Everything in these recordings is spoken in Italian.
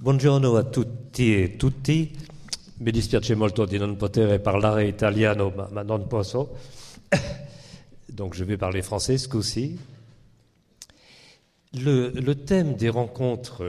Buongiorno a tutti e tutti. Mi dispiace molto di non poter parlare italiano, ma non posso. Donc je vais parler français ce coup-ci. Le thème des rencontres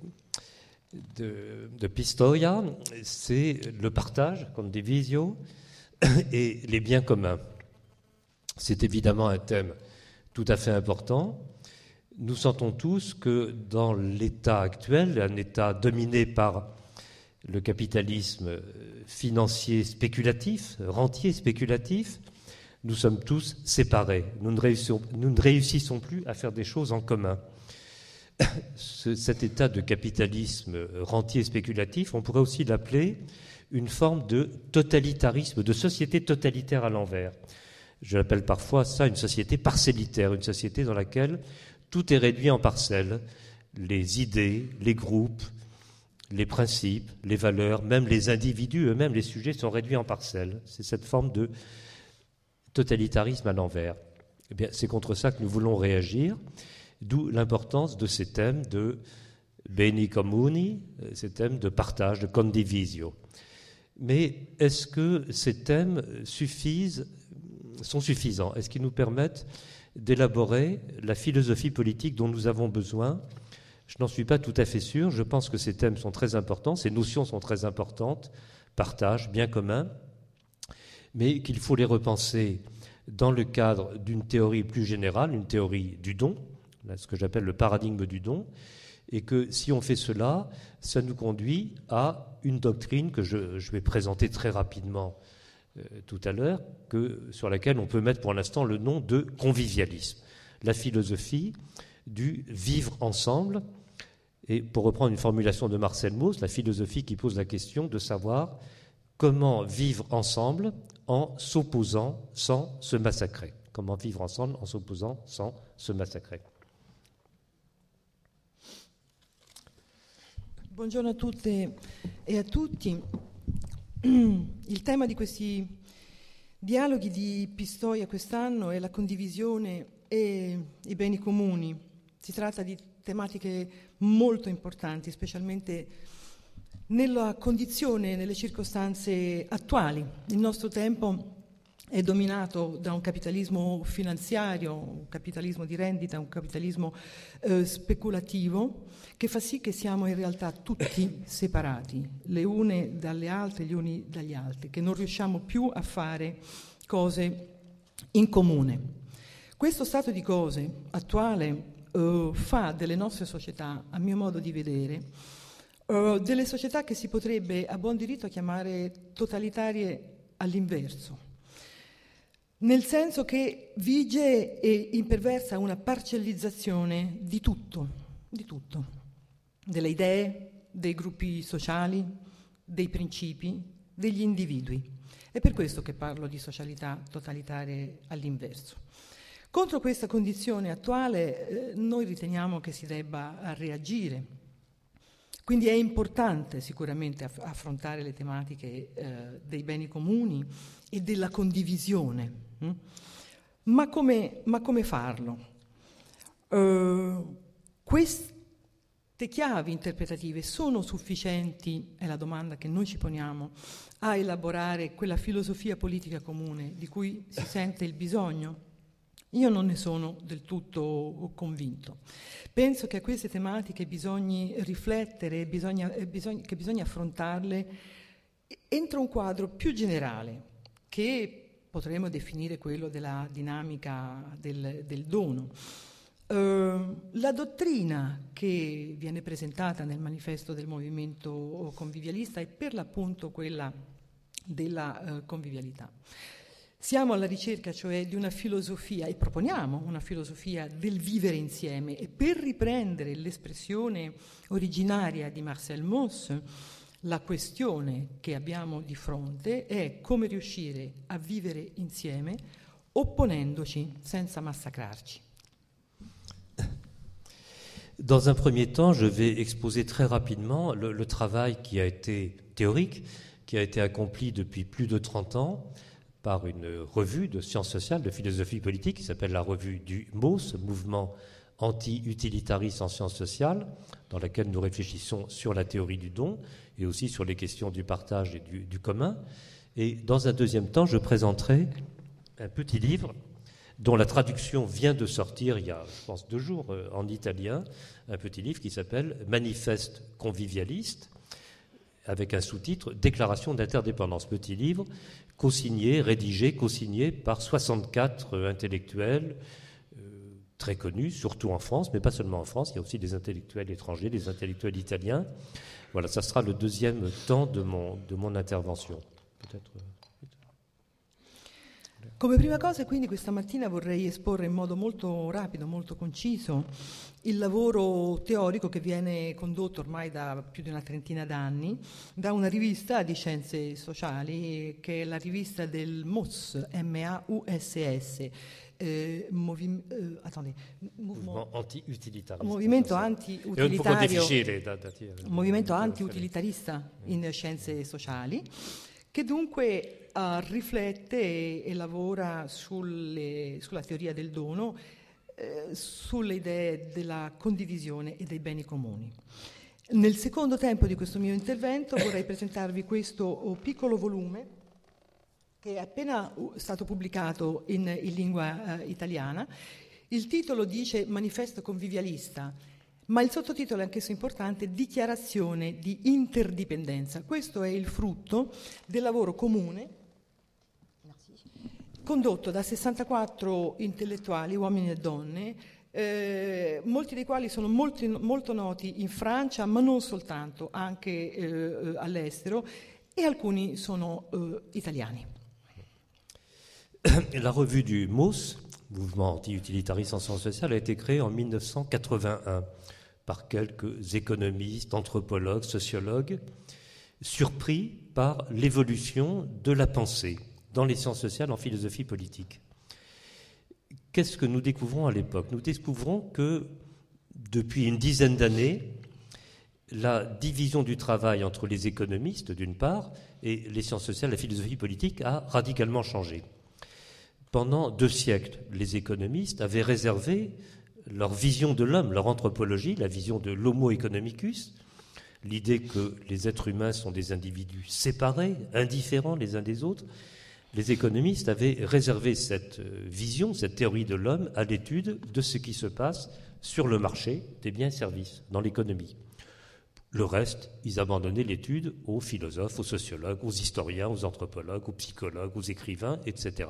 de Pistoia, c'est le partage, comme des visios, et les biens communs. C'est évidemment un thème tout à fait important. Nous sentons tous que dans l'état actuel, un état dominé par le capitalisme financier spéculatif, rentier spéculatif, nous sommes tous séparés. Nous ne réussissons plus à faire des choses en commun. Cet état de capitalisme rentier spéculatif, on pourrait aussi l'appeler une forme de totalitarisme, de société totalitaire à l'envers. Je l'appelle parfois ça une société parcellitaire, une société dans laquelle tout est réduit en parcelles, les idées, les groupes, les principes, les valeurs, même les individus eux-mêmes, les sujets sont réduits en parcelles. C'est cette forme de totalitarisme à l'envers. Eh bien, c'est contre ça que nous voulons réagir, d'où l'importance de ces thèmes de beni comuni, ces thèmes de partage, de condivisio. Mais est-ce que ces thèmes sont suffisants? Est-ce qu'ils nous permettent d'élaborer la philosophie politique dont nous avons besoin? Je n'en suis pas tout à fait sûr. Je pense que ces thèmes sont très importants, ces notions sont très importantes, partage, bien commun, mais qu'il faut les repenser dans le cadre d'une théorie plus générale, une théorie du don, ce que j'appelle le paradigme du don, et que si on fait cela, ça nous conduit à une doctrine que je vais présenter très rapidement tout à l'heure, sur laquelle on peut mettre pour l'instant le nom de convivialisme, la philosophie du vivre ensemble, et pour reprendre une formulation de Marcel Mauss, la philosophie qui pose la question de savoir comment vivre ensemble en s'opposant sans se massacrer. Comment vivre ensemble en s'opposant sans se massacrer. Buongiorno a tutte e a tutti. Il tema di questi dialoghi di Pistoia quest'anno è la condivisione e i beni comuni. Si tratta di tematiche molto importanti, specialmente nella condizione, nelle circostanze attuali. Il nostro tempo è dominato da un capitalismo finanziario, un capitalismo di rendita, un capitalismo speculativo, che fa sì che siamo in realtà tutti separati, le une dalle altre, gli uni dagli altri, che non riusciamo più a fare cose in comune. Questo stato di cose attuale fa delle nostre società, a mio modo di vedere, delle società che si potrebbe a buon diritto chiamare totalitarie all'inverso, nel senso che vige e imperversa una parcellizzazione di tutto, delle idee, dei gruppi sociali, dei principi, degli individui. È per questo che parlo di socialità totalitarie all'inverso. Contro questa condizione attuale noi riteniamo che si debba reagire. Quindi è importante sicuramente affrontare le tematiche dei beni comuni e della condivisione. Ma come farlo? Queste chiavi interpretative sono sufficienti, è la domanda che noi ci poniamo, a elaborare quella filosofia politica comune di cui si sente il bisogno? Io non ne sono del tutto convinto. Penso che a queste tematiche bisogna riflettere, che bisogna affrontarle entro un quadro più generale, che potremmo definire quello della dinamica del dono. La dottrina che viene presentata nel manifesto del movimento convivialista è per l'appunto quella della convivialità. Siamo alla ricerca, cioè, di una filosofia, e proponiamo una filosofia del vivere insieme, e per riprendere l'espressione originaria di Marcel Mauss, la questione che abbiamo di fronte è come riuscire a vivere insieme opponendoci senza massacrarci. Dans un premier temps, je vais exposer très rapidement le travail qui a été théorique, qui a été accompli depuis plus de 30 ans par une revue de sciences sociales, de philosophie politique, qui s'appelle la revue du MAUS, Mouvement anti-utilitariste en sciences sociales, dans laquelle nous réfléchissons sur la théorie du don et aussi sur les questions du partage et du commun. Et dans un deuxième temps, je présenterai un petit livre dont la traduction vient de sortir il y a, je pense, 2 jours en italien, un petit livre qui s'appelle « Manifeste convivialiste », avec un sous-titre « Déclaration d'interdépendance ». Petit livre rédigé, co-signé par 64 intellectuels très connus, surtout en France, mais pas seulement en France, il y a aussi des intellectuels étrangers, des intellectuels italiens. Voilà, ça sera le deuxième temps de mon intervention. Peut-être... Come prima cosa, quindi, questa mattina vorrei esporre in modo molto rapido, molto conciso, il lavoro teorico che viene condotto ormai da più di una trentina d'anni da una rivista di scienze sociali, che è la rivista del MUSS, M-A-U-S-S, Movimento anti-utilitarista in scienze sociali, che dunque riflette e lavora sulla teoria del dono, sulle idee della condivisione e dei beni comuni. Nel secondo tempo di questo mio intervento vorrei presentarvi questo piccolo volume che è appena stato pubblicato in lingua italiana. Il titolo dice Manifesto convivialista, ma il sottotitolo è anch'esso importante, Dichiarazione di interdipendenza. Questo è il frutto del lavoro comune condotto da 64 intellettuali, uomini e donne, molti dei quali sono molto noti in Francia, ma non soltanto, anche all'estero, e alcuni sono italiani. La revue du MUSS, Mouvement anti-utilitariste en sciences sociales, a été créée en 1981 par quelques économistes, anthropologues, sociologues, surpris par l'évolution de la pensée dans les sciences sociales, en philosophie politique. Qu'est-ce que nous découvrons à l'époque? Nous découvrons que depuis une dizaine d'années, la division du travail entre les économistes, d'une part, et les sciences sociales, la philosophie politique, a radicalement changé. Pendant 2 siècles, les économistes avaient réservé leur vision de l'homme, leur anthropologie, la vision de l'homo economicus, l'idée que les êtres humains sont des individus séparés, indifférents les uns des autres. Les économistes avaient réservé cette vision, cette théorie de l'homme, à l'étude de ce qui se passe sur le marché des biens et services, dans l'économie. Le reste, ils abandonnaient l'étude aux philosophes, aux sociologues, aux historiens, aux anthropologues, aux psychologues, aux écrivains, etc.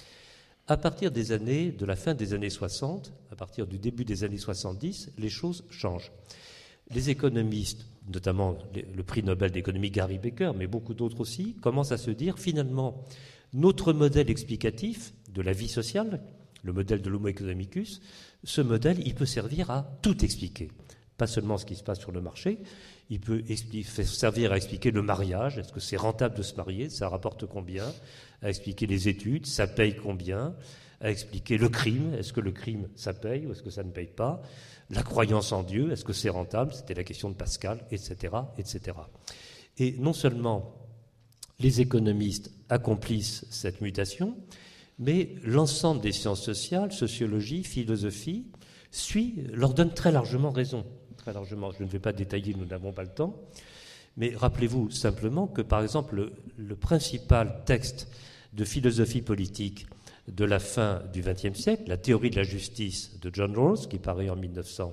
À partir de la fin des années 60, à partir du début des années 70, les choses changent. Les économistes, notamment le prix Nobel d'économie Gary Becker, mais beaucoup d'autres aussi, commencent à se dire finalement notre modèle explicatif de la vie sociale, le modèle de l'homo economicus, ce modèle, il peut servir à tout expliquer. Pas seulement ce qui se passe sur le marché, il peut servir à expliquer le mariage, est-ce que c'est rentable de se marier, ça rapporte combien, à expliquer les études, ça paye combien, à expliquer le crime, est-ce que le crime ça paye ou est-ce que ça ne paye pas, la croyance en Dieu, est-ce que c'est rentable, c'était la question de Pascal, etc., etc. Et non seulement les économistes accomplissent cette mutation, mais l'ensemble des sciences sociales, sociologie, philosophie, leur donne très largement raison. Très largement, je ne vais pas détailler, nous n'avons pas le temps, mais rappelez-vous simplement que, par exemple, le principal texte de philosophie politique de la fin du XXe siècle, la théorie de la justice de John Rawls, qui paraît en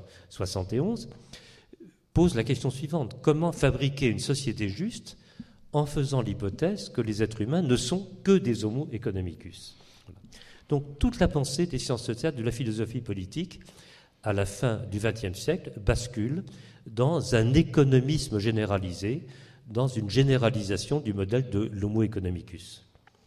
1971, pose la question suivante: comment fabriquer une société juste en faisant l'hypothèse que les êtres humains ne sont que des homo economicus. Donc toute la pensée des sciences sociales, de la philosophie politique, à la fin du XXe siècle, bascule dans un économisme généralisé, dans une généralisation du modèle de l'homo economicus.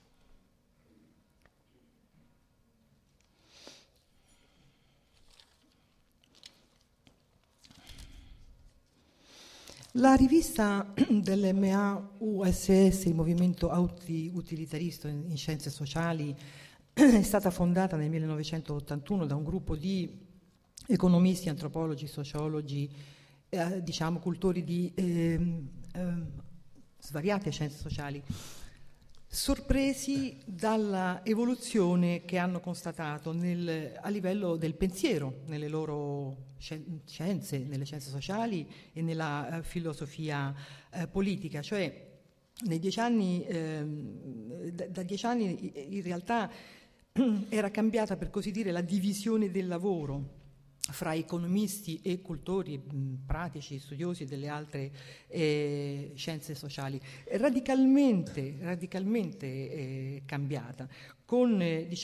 La rivista dell'MAUSS, il Movimento Anti-Utilitarista in Scienze Sociali, è stata fondata nel 1981 da un gruppo di economisti, antropologi, sociologi, diciamo cultori di svariate scienze sociali. sorpresi dalla evoluzione che hanno constatato a livello del pensiero, nelle loro scienze, nelle scienze sociali e nella filosofia politica. Cioè, nei 10 anni, da 10 anni in realtà era cambiata, per così dire, la divisione del lavoro fra economisti e cultori pratici, studiosi delle altre scienze sociali, radicalmente cambiata, con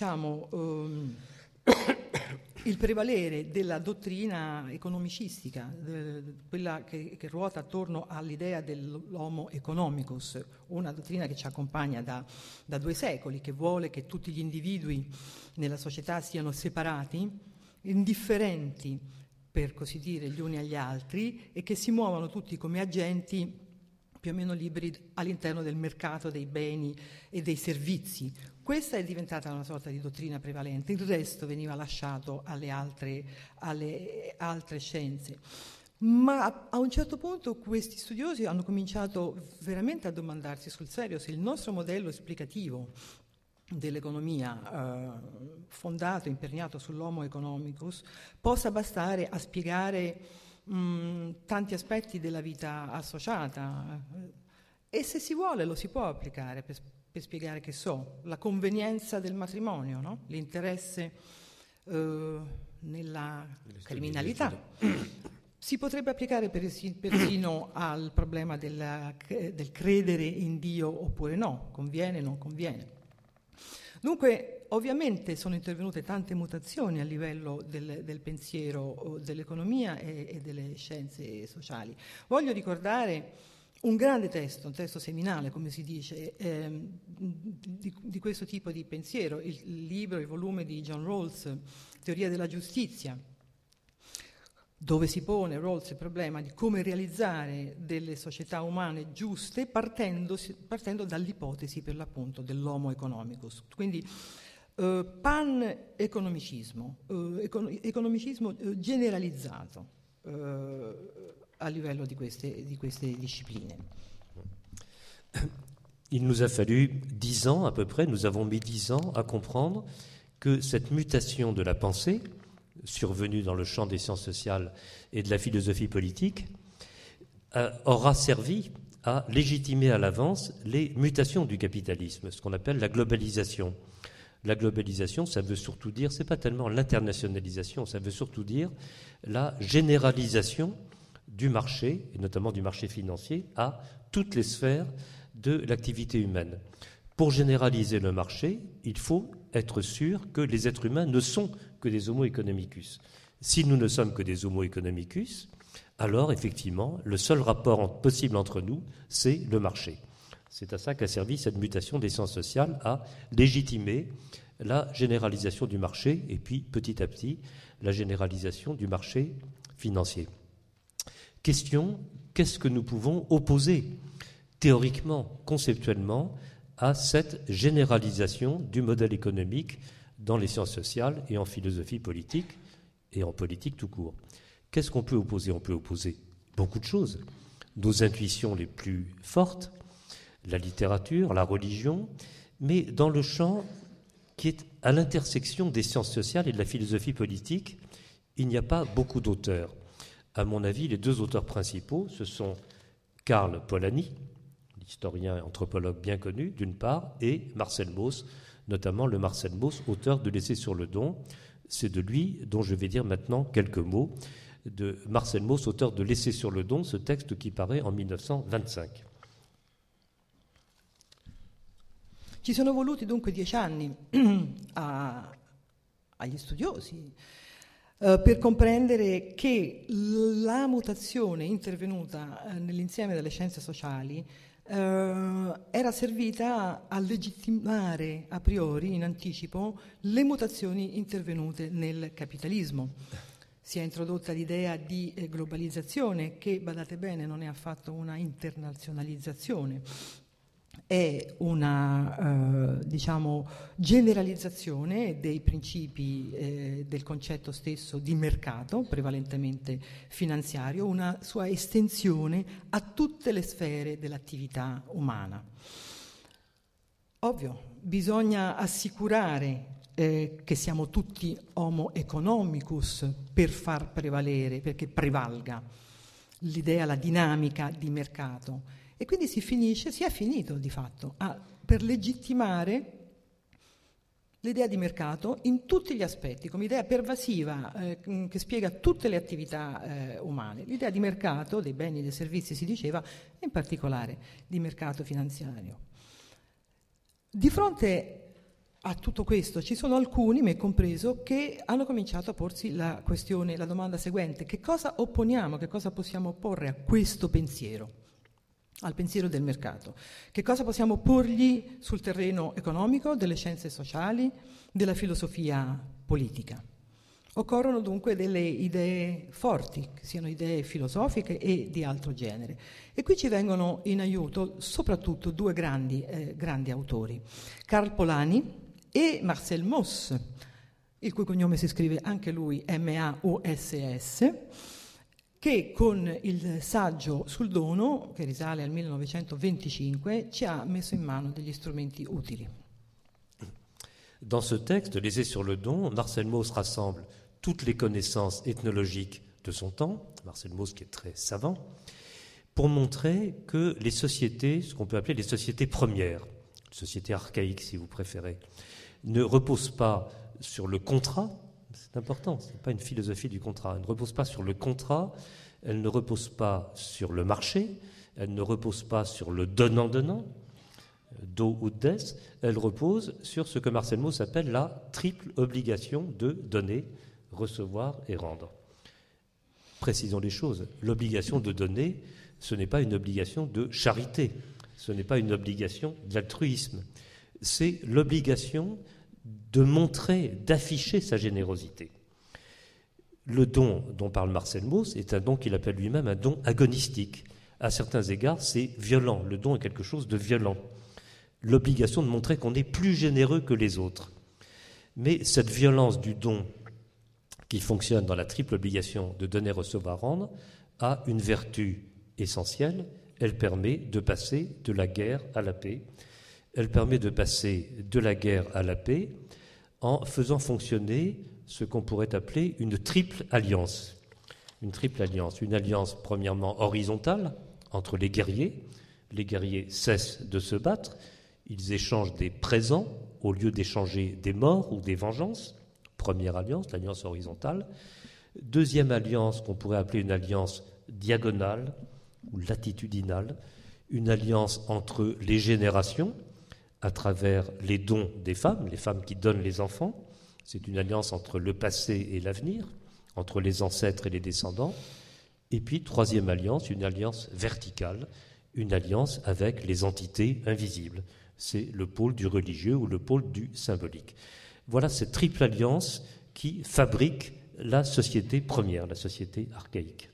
il prevalere della dottrina economicistica, quella che ruota attorno all'idea dell'homo economicus, una dottrina che ci accompagna da 2 secoli, che vuole che tutti gli individui nella società siano separati, indifferenti, per così dire, gli uni agli altri, e che si muovano tutti come agenti più o meno liberi all'interno del mercato dei beni e dei servizi. Questa è diventata una sorta di dottrina prevalente, il resto veniva lasciato alle altre scienze. Ma a un certo punto questi studiosi hanno cominciato veramente a domandarsi sul serio se il nostro modello esplicativo dell'economia fondato, imperniato sull'homo economicus, possa bastare a spiegare tanti aspetti della vita associata, e se si vuole lo si può applicare per spiegare, che so, la convenienza del matrimonio, no? L'interesse nella criminalità. Si potrebbe applicare persino al problema del credere in Dio oppure no, conviene o non conviene. Dunque, ovviamente sono intervenute tante mutazioni a livello del pensiero dell'economia e delle scienze sociali. Voglio ricordare un grande testo, un testo seminale, come si dice, di questo tipo di pensiero, il volume di John Rawls, Teoria della giustizia, dove si pone Rawls il problema di come realizzare delle società umane giuste partendo dall'ipotesi, per l'appunto, dell'homo economicus. Quindi pan-economicismo, economicismo generalizzato a livello di queste discipline. Il nous a fallu 10 ans à peu près, nous avons mis 10 ans à comprendre que cette mutation de la pensée, survenue dans le champ des sciences sociales et de la philosophie politique, aura servi à légitimer à l'avance les mutations du capitalisme, ce qu'on appelle la globalisation. La globalisation, ça veut surtout dire, c'est pas tellement l'internationalisation, ça veut surtout dire la généralisation du marché, et notamment du marché financier, à toutes les sphères de l'activité humaine. Pour généraliser le marché, il faut être sûr que les êtres humains ne sont que des homo economicus. Si nous ne sommes que des homo economicus, alors effectivement, le seul rapport possible entre nous, c'est le marché. C'est à ça qu'a servi cette mutation des sciences sociales, à légitimer la généralisation du marché et puis petit à petit la généralisation du marché financier. Question, qu'est-ce que nous pouvons opposer théoriquement, conceptuellement, à cette généralisation du modèle économique dans les sciences sociales et en philosophie politique et en politique tout court? Qu'est-ce qu'on peut opposer? On peut opposer beaucoup de choses. Nos intuitions les plus fortes, la littérature, la religion, mais dans le champ qui est à l'intersection des sciences sociales et de la philosophie politique, il n'y a pas beaucoup d'auteurs. À mon avis, les 2 auteurs principaux, ce sont Karl Polanyi, historien et anthropologue bien connu, d'une part, et Marcel Mauss, notamment le Marcel Mauss, auteur de l'Essai sur le don. C'est de lui dont je vais dire maintenant quelques mots, de Marcel Mauss, auteur de l'Essai sur le don, ce texte qui paraît en 1925. Ci sono voluti dunque 10 anni agli studiosi per comprendere che la mutazione intervenuta nell'insieme delle scienze sociali era servita a legittimare a priori, in anticipo, le mutazioni intervenute nel capitalismo. Si è introdotta l'idea di globalizzazione che, badate bene, non è affatto una internazionalizzazione, è una generalizzazione dei principi del concetto stesso di mercato, prevalentemente finanziario, una sua estensione a tutte le sfere dell'attività umana. Ovvio, bisogna assicurare che siamo tutti homo economicus per far prevalere, perché prevalga l'idea, la dinamica di mercato. E quindi si è finito di fatto per legittimare l'idea di mercato in tutti gli aspetti, come idea pervasiva che spiega tutte le attività umane. L'idea di mercato, dei beni e dei servizi si diceva, e in particolare di mercato finanziario. Di fronte a tutto questo ci sono alcuni, me compreso, che hanno cominciato a porsi la domanda seguente: che cosa opponiamo, che cosa possiamo opporre a questo pensiero? Al pensiero del mercato. Che cosa possiamo porgli sul terreno economico, delle scienze sociali, della filosofia politica? Occorrono dunque delle idee forti, che siano idee filosofiche e di altro genere. E qui ci vengono in aiuto soprattutto due grandi autori, Karl Polanyi e Marcel Mauss, il cui cognome si scrive anche lui M-A-U-S-S, che con il saggio sul dono, che risale al 1925, ci ha messo in mano degli strumenti utili. Dans ce texte, l'essai sur le don, Marcel Mauss rassemble toutes les connaissances ethnologiques de son temps, Marcel Mauss qui est très savant, pour montrer que les sociétés, ce qu'on peut appeler les sociétés premières, sociétés archaïques si vous préférez, ne reposent pas sur le contrat. C'est important, ce n'est pas une philosophie du contrat. Elle ne repose pas sur le contrat, elle ne repose pas sur le marché, elle ne repose pas sur le donnant-donnant, do ou des, elle repose sur ce que Marcel Mauss appelle la triple obligation de donner, recevoir et rendre. Précisons les choses, l'obligation de donner, ce n'est pas une obligation de charité, ce n'est pas une obligation d'altruisme, c'est l'obligation de montrer, d'afficher sa générosité. Le don dont parle Marcel Mauss est un don qu'il appelle lui-même un don agonistique. À certains égards, c'est violent. Le don est quelque chose de violent. L'obligation de montrer qu'on est plus généreux que les autres. Mais cette violence du don qui fonctionne dans la triple obligation de donner, recevoir, rendre a une vertu essentielle. Elle permet de passer de la guerre à la paix. Elle permet de passer de la guerre à la paix en faisant fonctionner ce qu'on pourrait appeler une triple alliance. Une triple alliance. Une alliance premièrement horizontale entre les guerriers. Les guerriers cessent de se battre. Ils échangent des présents au lieu d'échanger des morts ou des vengeances. Première alliance, l'alliance horizontale. Deuxième alliance qu'on pourrait appeler une alliance diagonale ou latitudinale. Une alliance entre les générations, à travers les dons des femmes, les femmes qui donnent les enfants. C'est une alliance entre le passé et l'avenir, entre les ancêtres et les descendants. Et puis, troisième alliance, une alliance verticale, une alliance avec les entités invisibles. C'est le pôle du religieux ou le pôle du symbolique. Voilà cette triple alliance qui fabrique la société première, la société archaïque.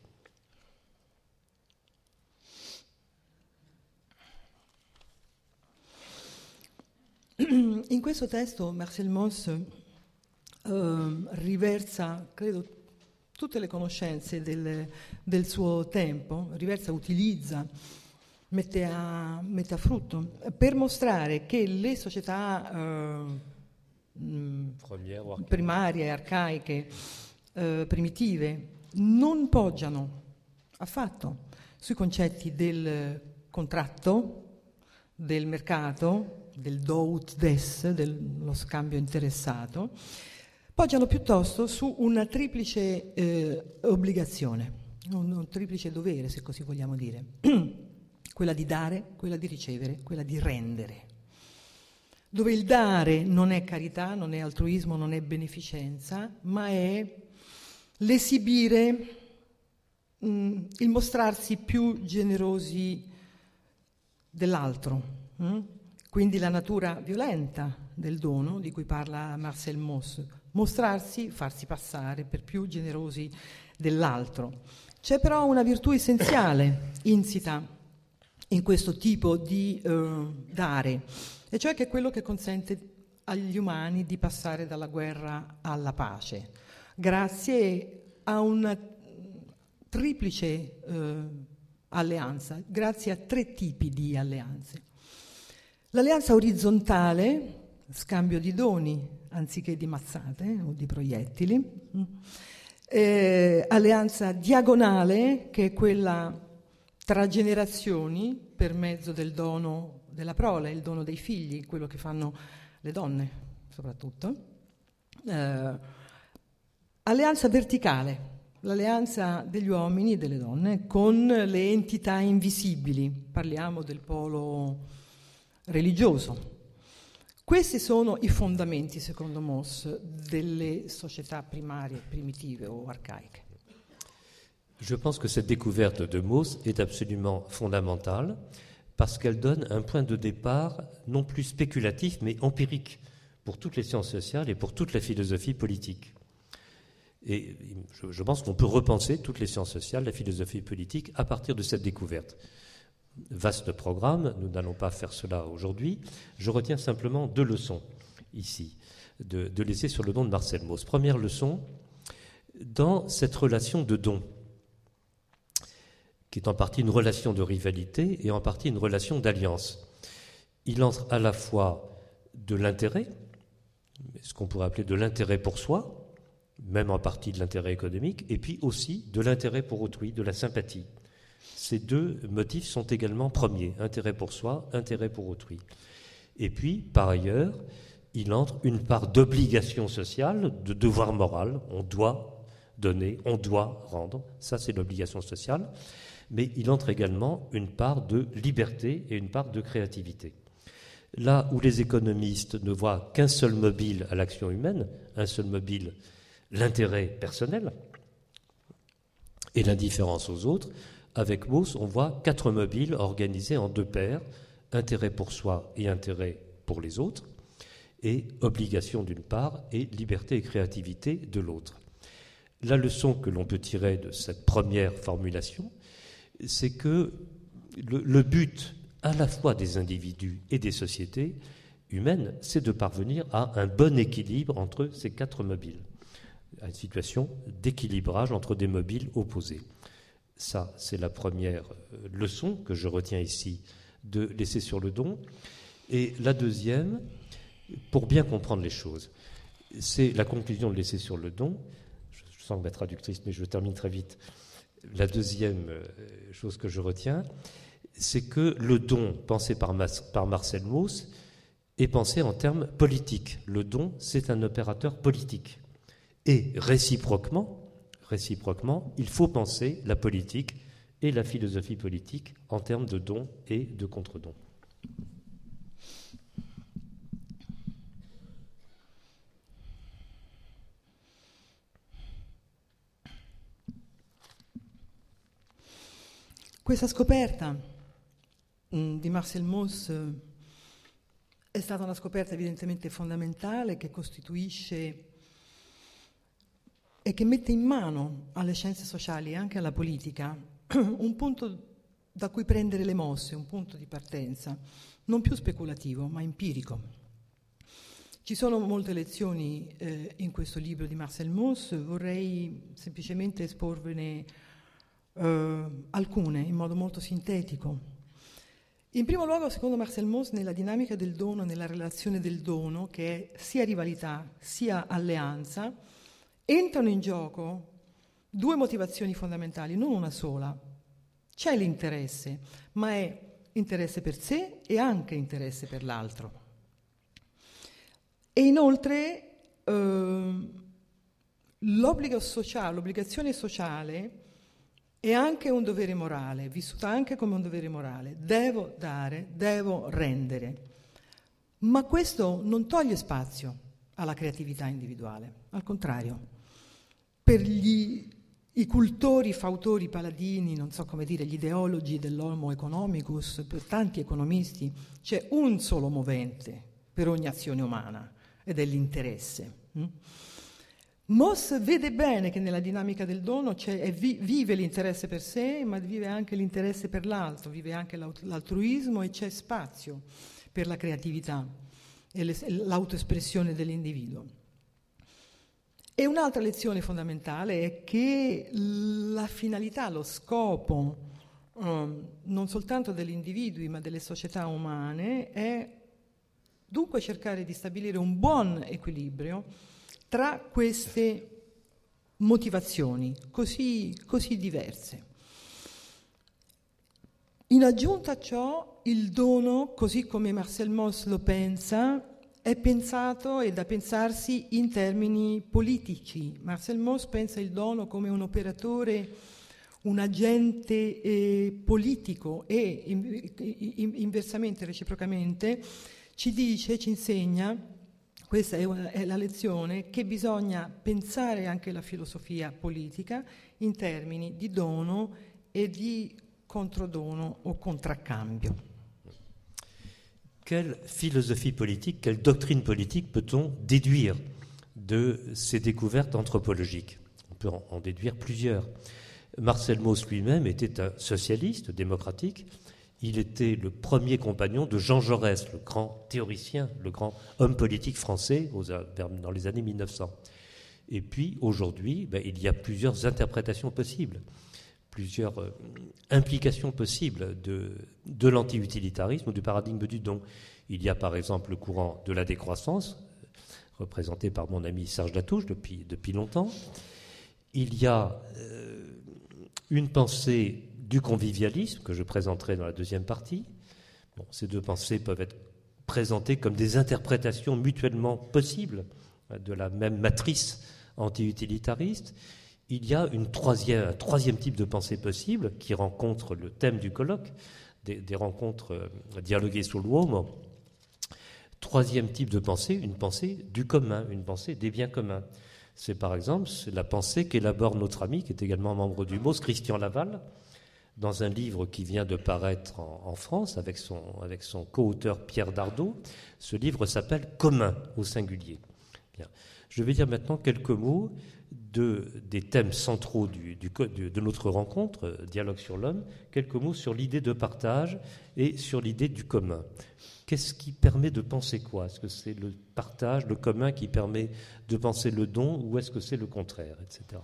In questo testo Marcel Mauss riversa, credo, tutte le conoscenze del suo tempo, utilizza, mette a frutto per mostrare che le società primarie, arcaiche, primitive non poggiano affatto sui concetti del contratto, del mercato, del do ut des, dello scambio interessato, poggiano piuttosto su una triplice obbligazione, un triplice dovere, se così vogliamo dire, quella di dare, quella di ricevere, quella di rendere, dove il dare non è carità, non è altruismo, non è beneficenza, ma è l'esibire, il mostrarsi più generosi dell'altro. Quindi la natura violenta del dono, di cui parla Marcel Mauss, mostrarsi, farsi passare per più generosi dell'altro. C'è però una virtù essenziale insita in questo tipo di dare, e cioè che è quello che consente agli umani di passare dalla guerra alla pace, grazie a una triplice alleanza, grazie a tre tipi di alleanze. L'alleanza orizzontale, scambio di doni anziché di mazzate o di proiettili. Alleanza diagonale, che è quella tra generazioni per mezzo del dono della prole, il dono dei figli, quello che fanno le donne soprattutto. Alleanza verticale, l'alleanza degli uomini e delle donne con le entità invisibili, parliamo del polo religioso. Questi sono i fondamenti, secondo Mauss, delle società primarie, primitive o arcaiche. Je pense que cette découverte de Mauss est absolument fondamentale parce qu'elle donne un point de départ non plus spéculatif mais empirique pour toutes les sciences sociales et pour toute la philosophie politique. Et je pense qu'on peut repenser toutes les sciences sociales, la philosophie politique à partir de cette découverte. Vaste programme, nous n'allons pas faire cela aujourd'hui. Je retiens simplement 2 leçons ici de l'essai sur le don de Marcel Mauss. Première leçon, dans cette relation de don, qui est en partie une relation de rivalité et en partie une relation d'alliance, il entre à la fois de l'intérêt, ce qu'on pourrait appeler de l'intérêt pour soi, même en partie de l'intérêt économique, et puis aussi de l'intérêt pour autrui, de la sympathie. Ces 2 motifs sont également premiers, intérêt pour soi, intérêt pour autrui. Et puis, par ailleurs, il entre une part d'obligation sociale, de devoir moral, on doit donner, on doit rendre, ça c'est l'obligation sociale, mais il entre également une part de liberté et une part de créativité. Là où les économistes ne voient qu'un seul mobile à l'action humaine, un seul mobile, l'intérêt personnel et l'indifférence aux autres, avec Mauss, on voit 4 mobiles organisés en 2 paires, intérêt pour soi et intérêt pour les autres, et obligation d'une part et liberté et créativité de l'autre. La leçon que l'on peut tirer de cette première formulation, c'est que le but à la fois des individus et des sociétés humaines, c'est de parvenir à un bon équilibre entre ces 4 mobiles, à une situation d'équilibrage entre des mobiles opposés. Ça, c'est la première leçon que je retiens ici de l'essai sur le don. Et la deuxième, pour bien comprendre les choses, c'est la conclusion de l'essai sur le don. Je sens que ma traductrice, mais je termine très vite. La deuxième chose que je retiens, c'est que le don pensé par Marcel Mauss est pensé en termes politiques. Le don, c'est un opérateur politique. Et réciproquement, il faut penser la politique et la philosophie politique en termes de don et de contre-don. Questa scoperta di Marcel Mauss è stata una scoperta evidentemente fondamentale che costituisce e che mette in mano alle scienze sociali e anche alla politica un punto da cui prendere le mosse, un punto di partenza, non più speculativo ma empirico. Ci sono molte lezioni in questo libro di Marcel Mauss, vorrei semplicemente esporvene alcune in modo molto sintetico. In primo luogo, secondo Marcel Mauss, nella dinamica del dono, nella relazione del dono, che è sia rivalità sia alleanza, entrano in gioco 2 motivazioni fondamentali, non una sola. C'è l'interesse, ma è interesse per sé e anche interesse per l'altro. E inoltre l'obbligazione sociale è anche un dovere morale, vissuta anche come un dovere morale. Devo dare, devo rendere. Ma questo non toglie spazio alla creatività individuale, al contrario. Per i cultori, fautori, paladini, non so come dire, gli ideologi dell'homo economicus, per tanti economisti, c'è un solo movente per ogni azione umana, ed è l'interesse. Mauss vede bene che nella dinamica del dono vive l'interesse per sé, ma vive anche l'interesse per l'altro, vive anche l'altruismo e c'è spazio per la creatività e l'autoespressione dell'individuo. E un'altra lezione fondamentale è che la finalità, lo scopo non soltanto degli individui ma delle società umane è Dunque cercare di stabilire un buon equilibrio tra queste motivazioni così diverse. In aggiunta a ciò, il dono, così come Marcel Mauss lo pensa, è pensato e da pensarsi in termini politici. Marcel Mauss pensa il dono come un operatore, un agente politico e inversamente, reciprocamente, ci dice, ci insegna, questa è la lezione, che bisogna pensare anche la filosofia politica in termini di dono e di controdono o contraccambio. Quelle philosophie politique, quelle doctrine politique peut-on déduire de ces découvertes anthropologiques? On peut en déduire plusieurs. Marcel Mauss lui-même était un socialiste démocratique. Il était le premier compagnon de Jean Jaurès, le grand théoricien, le grand homme politique français dans les années 1900. Et puis aujourd'hui, il y a plusieurs interprétations possibles, plusieurs implications possibles de l'anti-utilitarisme ou du paradigme du don. Il y a par exemple le courant de la décroissance, représenté par mon ami Serge Latouche depuis longtemps. Il y a une pensée du convivialisme que je présenterai dans la deuxième partie. Bon, ces deux pensées peuvent être présentées comme des interprétations mutuellement possibles de la même matrice anti-utilitariste. Il y a un troisième type de pensée possible qui rencontre le thème du colloque, des rencontres dialoguées sur l'uomo. Troisième type de pensée, une pensée du commun, une pensée des biens communs. C'est par exemple la pensée qu'élabore notre ami, qui est également membre du MOS, Christian Laval, dans un livre qui vient de paraître en France avec son co-auteur Pierre Dardot. Ce livre s'appelle « Commun » au singulier. Bien. Je vais dire maintenant quelques mots des thèmes centraux de notre rencontre, Dialogue sur l'homme, quelques mots sur l'idée de partage et sur l'idée du commun. Qu'est-ce qui permet de penser quoi? Est-ce que c'est le partage, le commun qui permet de penser le don, ou est-ce que c'est le contraire, etc.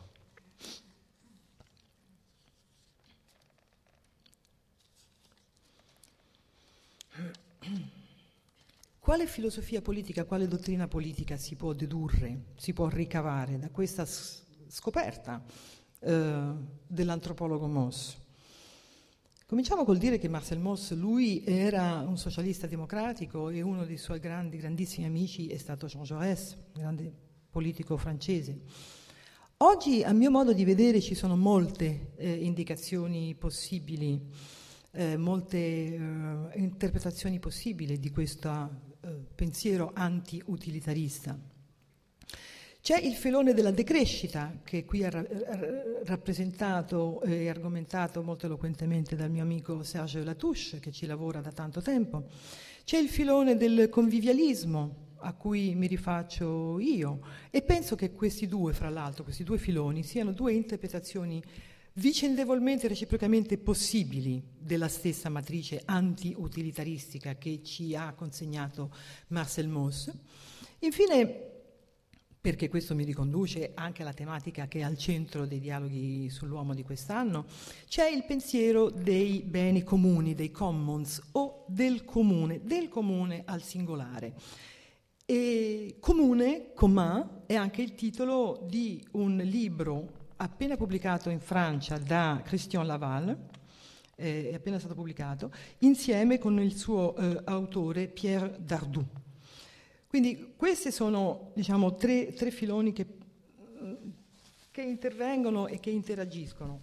Quale filosofia politica, quale dottrina politica si può dedurre, si può ricavare da questa scoperta dell'antropologo Mauss? Cominciamo col dire che Marcel Mauss, lui era un socialista democratico e uno dei suoi grandissimi amici è stato Jean Jaurès, grande politico francese. Oggi, a mio modo di vedere, ci sono molte indicazioni possibili, molte interpretazioni possibili di questo pensiero anti-utilitarista. C'è il filone della decrescita, che qui ha rappresentato e argomentato molto eloquentemente dal mio amico Serge Latouche, che ci lavora da tanto tempo. C'è il filone del convivialismo, a cui mi rifaccio io, e penso che questi due filoni, siano due interpretazioni vicendevolmente e reciprocamente possibili della stessa matrice anti-utilitaristica che ci ha consegnato Marcel Mauss. Infine, perché questo mi riconduce anche alla tematica che è al centro dei dialoghi sull'uomo di quest'anno, c'è il pensiero dei beni comuni, dei commons, o del comune al singolare. E comune, commun, è anche il titolo di un libro appena pubblicato in Francia da Christian Laval, è appena stato pubblicato, insieme con il suo autore Pierre Dardot. Quindi questi sono, diciamo, tre filoni che intervengono e che interagiscono.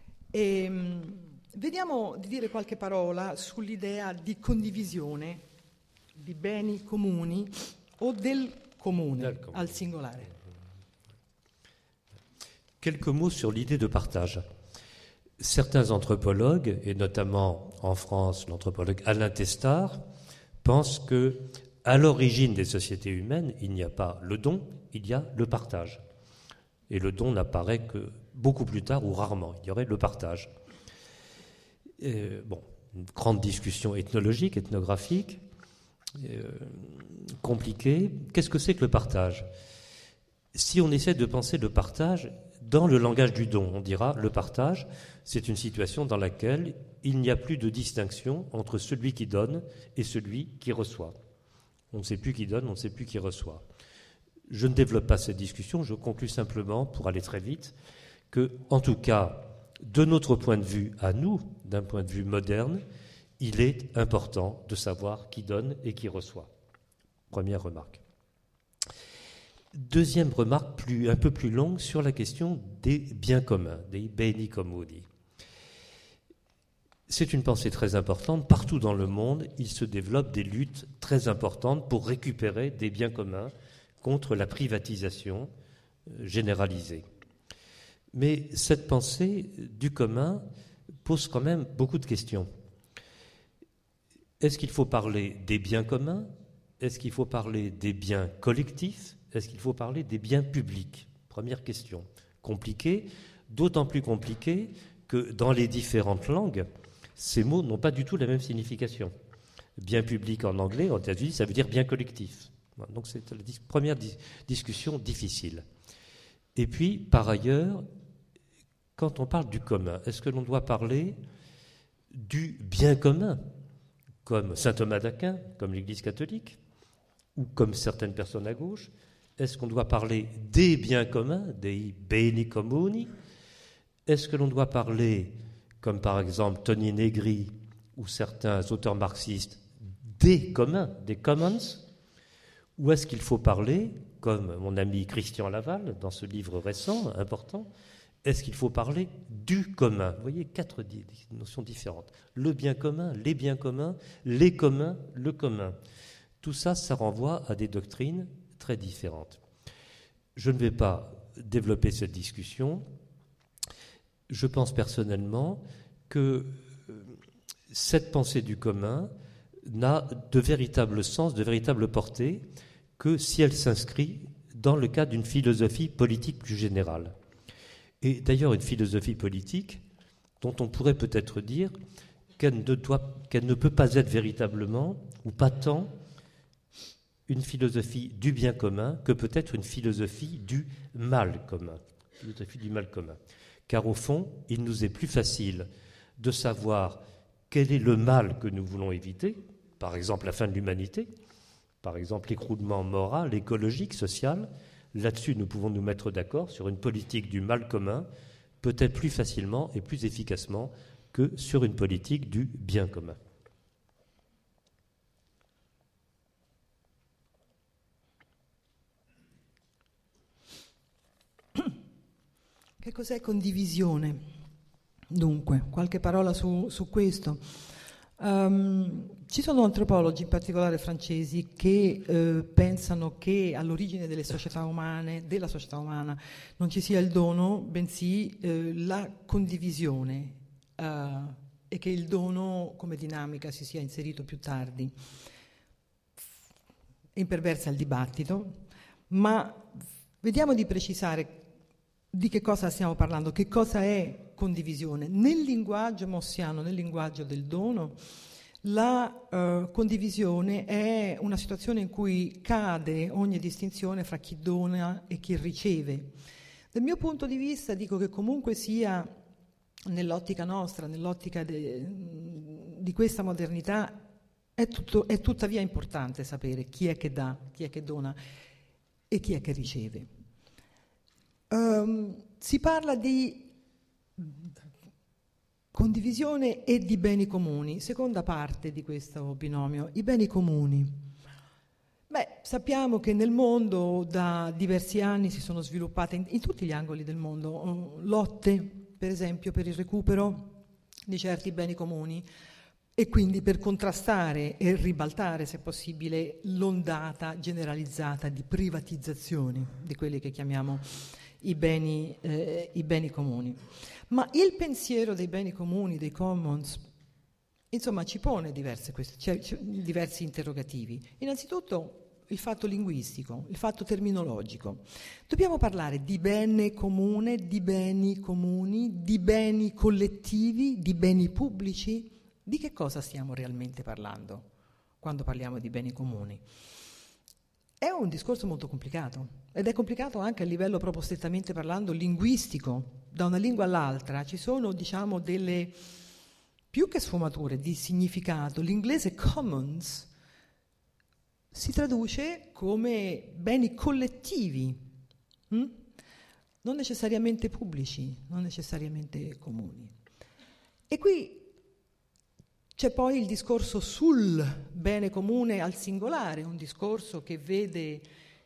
Vediamo di dire qualche parola sull'idea di condivisione di beni comuni o del comune al singolare. Quelques mots sur l'idée de partage. Certains anthropologues, et notamment en France l'anthropologue Alain Testard, pensent que à l'origine des sociétés humaines, il n'y a pas le don, il y a le partage. Et le don n'apparaît que beaucoup plus tard ou rarement. Il y aurait le partage. Une grande discussion ethnologique, ethnographique, compliquée. Qu'est-ce que c'est que le partage? Si on essaie de penser le partage dans le langage du don, on dira le partage, c'est une situation dans laquelle il n'y a plus de distinction entre celui qui donne et celui qui reçoit. On ne sait plus qui donne, on ne sait plus qui reçoit. Je ne développe pas cette discussion, je conclus simplement, pour aller très vite, que, en tout cas, de notre point de vue à nous, d'un point de vue moderne, il est important de savoir qui donne et qui reçoit. Première remarque. Deuxième remarque, un peu plus longue, sur la question des biens communs, des beni comuni. C'est une pensée très importante. Partout dans le monde, il se développe des luttes très importantes pour récupérer des biens communs contre la privatisation généralisée. Mais cette pensée du commun pose quand même beaucoup de questions. Est-ce qu'il faut parler des biens communs? Est-ce qu'il faut parler des biens collectifs? Est-ce qu'il faut parler des biens publics? Première question. Compliquée, d'autant plus compliquée que dans les différentes langues, ces mots n'ont pas du tout la même signification. Bien public en anglais, en États-Unis, ça veut dire bien collectif. Donc c'est la première discussion difficile. Et puis, par ailleurs, quand on parle du commun, est-ce que l'on doit parler du bien commun, comme saint Thomas d'Aquin, comme l'Église catholique, ou comme certaines personnes à gauche? Est-ce qu'on doit parler des biens communs, des beni comuni? Est-ce que l'on doit parler, comme par exemple Tony Negri ou certains auteurs marxistes, des communs, des commons? Ou est-ce qu'il faut parler, comme mon ami Christian Laval, dans ce livre récent, important, est-ce qu'il faut parler du commun? Vous voyez, 4 notions différentes. Le bien commun, les biens communs, les communs, le commun. Tout ça, ça renvoie à des doctrines très différentes. Je ne vais pas développer cette discussion. Je pense personnellement que cette pensée du commun n'a de véritable sens, de véritable portée, que si elle s'inscrit dans le cadre d'une philosophie politique plus générale. Et d'ailleurs une philosophie politique dont on pourrait peut-être dire qu'elle ne peut pas être véritablement, ou pas tant, une philosophie du bien commun que peut-être une philosophie du mal commun. Philosophie du mal commun. Car au fond, il nous est plus facile de savoir quel est le mal que nous voulons éviter, par exemple la fin de l'humanité, par exemple l'écroulement moral, écologique, social. Là-dessus, nous pouvons nous mettre d'accord sur une politique du mal commun, peut-être plus facilement et plus efficacement que sur une politique du bien commun. Che cos'è condivisione? Dunque, qualche parola su questo. Ci sono antropologi, in particolare francesi, che pensano che all'origine della società umana non ci sia il dono, bensì la condivisione, e che il dono come dinamica si sia inserito più tardi. Imperversa il dibattito, ma vediamo di precisare di che cosa stiamo parlando, che cosa è condivisione. Nel linguaggio mossiano, nel linguaggio del dono, la condivisione è una situazione in cui cade ogni distinzione fra chi dona e chi riceve. Dal mio punto di vista dico che comunque sia nell'ottica nostra, nell'ottica di questa modernità, è tuttavia importante sapere chi è che dà, chi è che dona e chi è che riceve. Si parla di condivisione e di beni comuni. Seconda parte di questo binomio, i beni comuni. Sappiamo che nel mondo da diversi anni si sono sviluppate in tutti gli angoli del mondo lotte, per esempio, per il recupero di certi beni comuni e quindi per contrastare e ribaltare, se possibile, l'ondata generalizzata di privatizzazioni di quelli che chiamiamo i beni comuni. Ma il pensiero dei beni comuni, dei commons, insomma, ci pone diversi interrogativi. Innanzitutto il fatto linguistico, il fatto terminologico. Dobbiamo parlare di bene comune, di beni comuni, di beni collettivi, di beni pubblici? Di che cosa stiamo realmente parlando quando parliamo di beni comuni? È un discorso molto complicato ed è complicato anche a livello proprio strettamente parlando linguistico. Da una lingua all'altra ci sono, diciamo, delle più che sfumature di significato. L'inglese commons si traduce come beni collettivi, non necessariamente pubblici, non necessariamente comuni. E qui c'è poi il discorso sul bene comune al singolare, un discorso che vede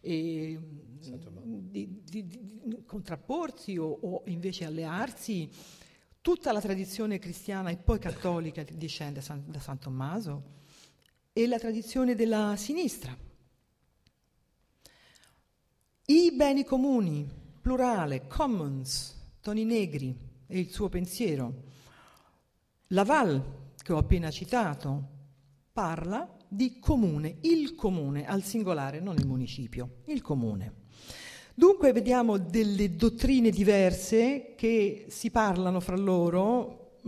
contrapporsi o invece allearsi tutta la tradizione cristiana e poi cattolica che discende da San Tommaso e la tradizione della sinistra. I beni comuni, plurale, commons, Toni Negri e il suo pensiero. Laval, che ho appena citato, parla di comune, il comune al singolare, non il municipio, il comune. Dunque vediamo delle dottrine diverse che si parlano fra loro,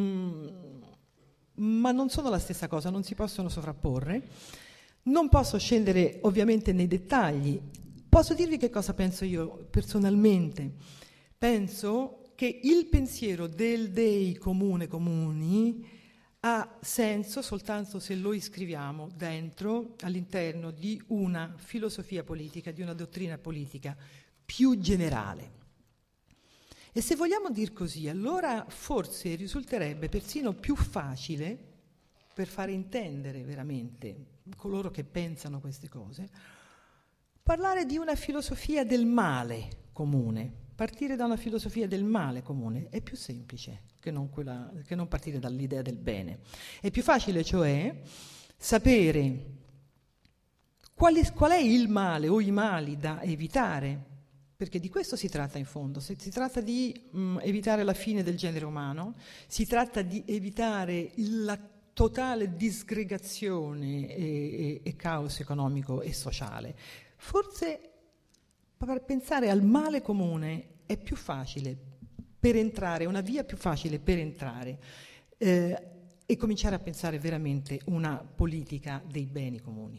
ma non sono la stessa cosa, non si possono sovrapporre. Non posso scendere ovviamente nei dettagli. Posso dirvi che cosa penso io personalmente. Penso che il pensiero del Dei comune comuni ha senso soltanto se lo iscriviamo dentro, all'interno di una filosofia politica, di una dottrina politica più generale. E se vogliamo dir così, allora forse risulterebbe persino più facile, per fare intendere veramente coloro che pensano queste cose, parlare di una filosofia del male comune. Partire da una filosofia del male comune è più semplice che non partire dall'idea del bene. È più facile, cioè, sapere qual è il male o i mali da evitare, perché di questo si tratta in fondo. Si tratta di evitare la fine del genere umano, si tratta di evitare la totale disgregazione e caos economico e sociale. Forse per pensare al male comune è più facile per entrare, una via più facile per entrare e cominciare a pensare veramente una politica dei beni comuni.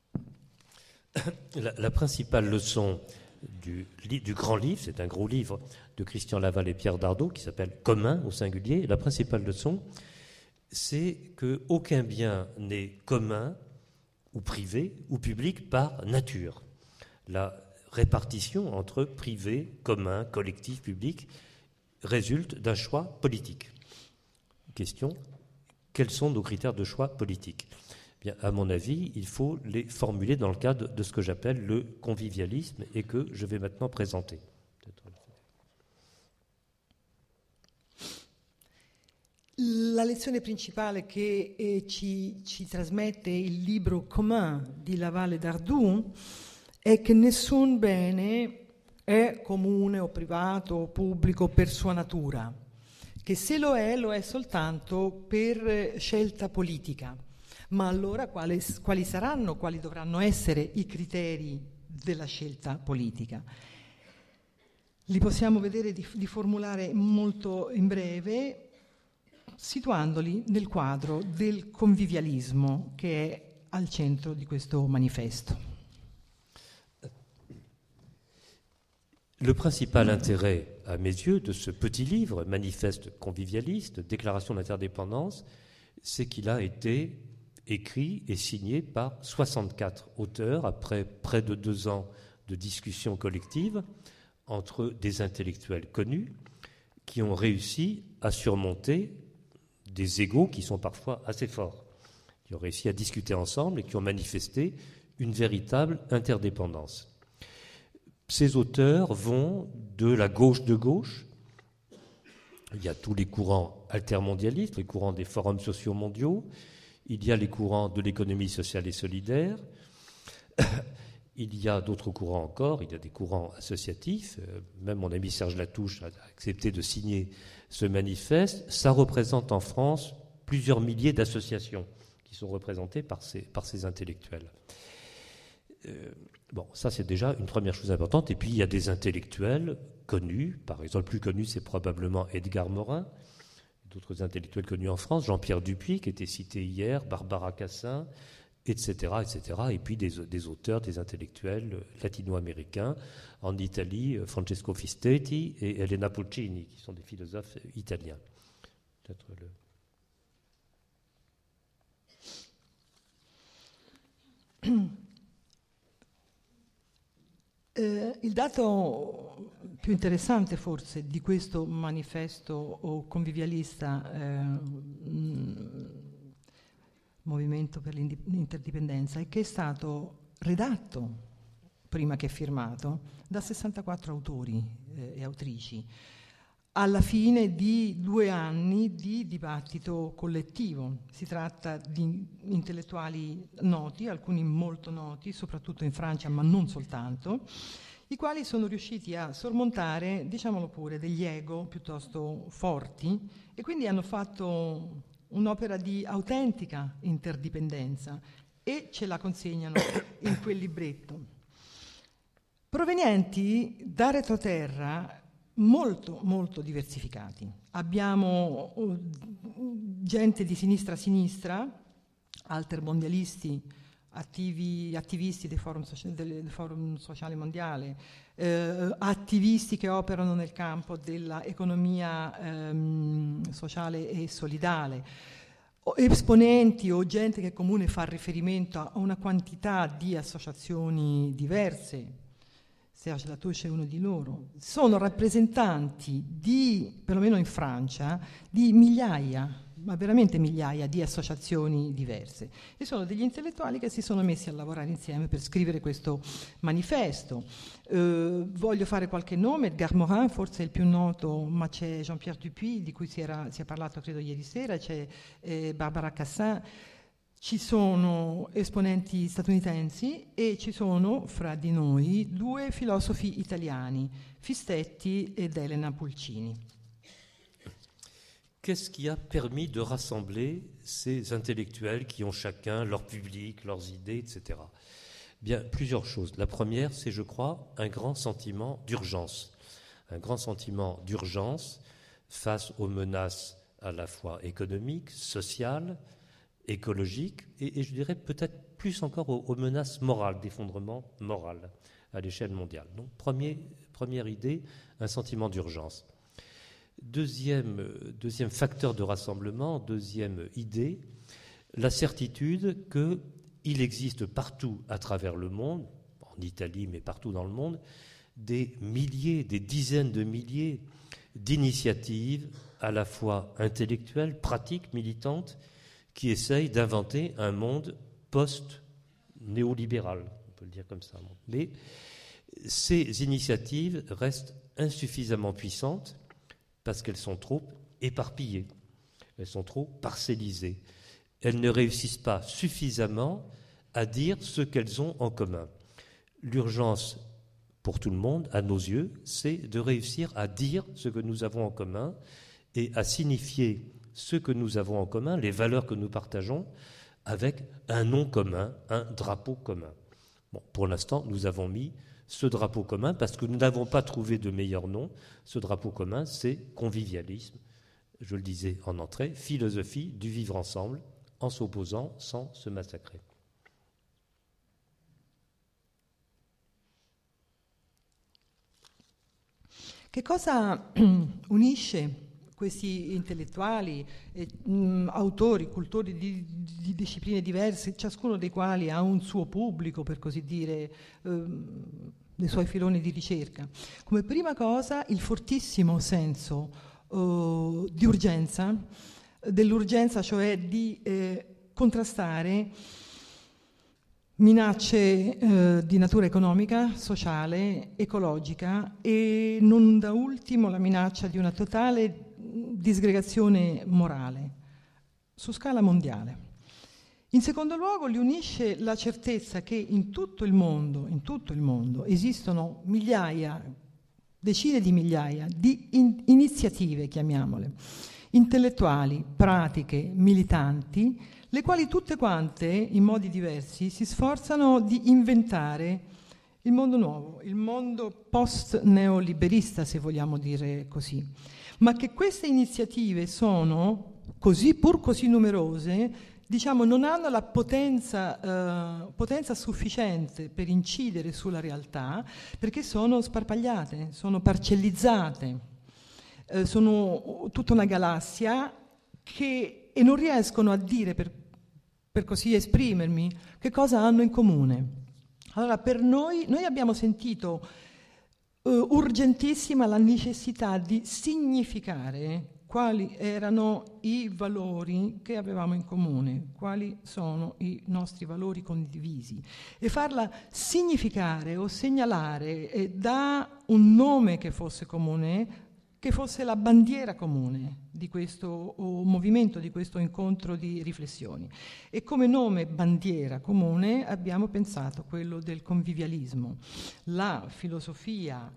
La principale leçon du grand livre, c'est un gros livre de Christian Laval et Pierre Dardot qui s'appelle Commun au singulier. La principale leçon, c'est qu'aucun bien n'est commun ou privé ou public par nature. La répartition entre privé, commun, collectif, public résulte d'un choix politique. Question, quels sont nos critères de choix politique ? Bien, à mon avis, il faut les formuler dans le cadre de ce que j'appelle le convivialisme et que je vais maintenant présenter. La lezione principale che ci trasmette il libro Commun di Laval e Dardot è che nessun bene è comune o privato o pubblico per sua natura, che se lo è soltanto per scelta politica. Ma allora quali dovranno essere i criteri della scelta politica? Li possiamo vedere di formulare molto in breve, situandoli nel quadro del convivialismo che è al centro di questo manifesto. Le principal intérêt, à mes yeux, de ce petit livre, Manifeste convivialiste, Déclaration d'interdépendance, c'est qu'il a été écrit et signé par 64 auteurs après près de 2 ans de discussions collectives entre des intellectuels connus qui ont réussi à surmonter des égos qui sont parfois assez forts, qui ont réussi à discuter ensemble et qui ont manifesté une véritable interdépendance. Ces auteurs vont de la gauche de gauche. Il y a tous les courants altermondialistes, les courants des forums sociaux mondiaux. Il y a les courants de l'économie sociale et solidaire. Il y a d'autres courants encore. Il y a des courants associatifs. Même mon ami Serge Latouche a accepté de signer ce manifeste. Ça représente en France plusieurs milliers d'associations qui sont représentées par ces intellectuels. Bon, ça c'est déjà une première chose importante. Et puis il y a des intellectuels connus. Par exemple, le plus connu c'est probablement Edgar Morin. D'autres intellectuels connus en France, Jean-Pierre Dupuy qui était cité hier, Barbara Cassin, etc., etc. Et puis des auteurs, des intellectuels latino-américains. En Italie, Francesco Fistetti et Elena Puccini, qui sont des philosophes italiens. Peut-être Il dato più interessante forse di questo manifesto o convivialista movimento per l'interdipendenza è che è stato redatto, prima che firmato, da 64 autori e autrici, alla fine di 2 anni di dibattito collettivo. Si tratta di intellettuali noti, alcuni molto noti, soprattutto in Francia, ma non soltanto, i quali sono riusciti a sormontare, diciamolo pure, degli ego piuttosto forti e quindi hanno fatto un'opera di autentica interdipendenza e ce la consegnano in quel libretto. Provenienti da retroterra molto, molto diversificati. Abbiamo gente di sinistra a sinistra, altermondialisti, attivisti del Forum Sociale Mondiale, attivisti che operano nel campo dell'economia sociale e solidale, esponenti o gente che comune fa riferimento a una quantità di associazioni diverse. Serge Latouche è uno di loro. Sono rappresentanti di, perlomeno in Francia, di migliaia, ma veramente migliaia di associazioni diverse. E sono degli intellettuali che si sono messi a lavorare insieme per scrivere questo manifesto. Voglio fare qualche nome: Edgar Morin, forse il più noto, ma c'è Jean-Pierre Dupuy, di cui si è parlato credo ieri sera, c'è Barbara Cassin. Ci sono esponenti statunitensi e ci sono, fra di noi, 2 filosofi italiani, Fistetti ed Elena Pulcini. Qu'est-ce qui a permis de rassembler ces intellectuels qui ont chacun leur public, leurs idées, etc. Bien, plusieurs choses. La première, c'est, je crois, un grand sentiment d'urgence. Un grand sentiment d'urgence face aux menaces à la fois économiques, sociales, écologique et je dirais peut-être plus encore aux menaces morales, d'effondrement moral à l'échelle mondiale. Donc première idée, un sentiment d'urgence. Deuxième facteur de rassemblement, deuxième idée, la certitude qu'il existe partout à travers le monde, en Italie mais partout dans le monde, des milliers, des dizaines de milliers d'initiatives à la fois intellectuelles, pratiques, militantes, qui essaye d'inventer un monde post-néolibéral, on peut le dire comme ça. Mais ces initiatives restent insuffisamment puissantes parce qu'elles sont trop éparpillées, elles sont trop parcellisées. Elles ne réussissent pas suffisamment à dire ce qu'elles ont en commun. L'urgence pour tout le monde, à nos yeux, c'est de réussir à dire ce que nous avons en commun et à signifier ce que nous avons en commun, les valeurs que nous partageons, avec un nom commun, un drapeau commun. Bon, pour l'instant, nous avons mis ce drapeau commun parce que nous n'avons pas trouvé de meilleur nom. Ce drapeau commun, c'est convivialisme, je le disais en entrée, philosophie du vivre ensemble, en s'opposant sans se massacrer. Che cosa unisce questi intellettuali, autori, cultori di discipline diverse, ciascuno dei quali ha un suo pubblico, per così dire, dei suoi filoni di ricerca? Come prima cosa il fortissimo senso di urgenza, dell'urgenza cioè di contrastare minacce di natura economica, sociale, ecologica e non da ultimo la minaccia di una totale disgregazione morale su scala mondiale. In secondo luogo li unisce la certezza che in tutto il mondo esistono migliaia, decine di migliaia di iniziative, chiamiamole, intellettuali, pratiche, militanti, le quali tutte quante, in modi diversi, si sforzano di inventare il mondo nuovo, il mondo post-neoliberista, se vogliamo dire così. Ma che queste iniziative sono pur così numerose, diciamo, non hanno la potenza sufficiente per incidere sulla realtà, perché sono sparpagliate, sono parcellizzate, sono tutta una galassia e non riescono a dire, per così esprimermi, che cosa hanno in comune. Allora, per noi abbiamo sentito urgentissima la necessità di significare quali erano i valori che avevamo in comune, quali sono i nostri valori condivisi, e farla significare o segnalare da un nome che fosse comune, che fosse la bandiera comune di questo movimento, di questo incontro di riflessioni. E come nome bandiera comune abbiamo pensato quello del convivialismo, la filosofia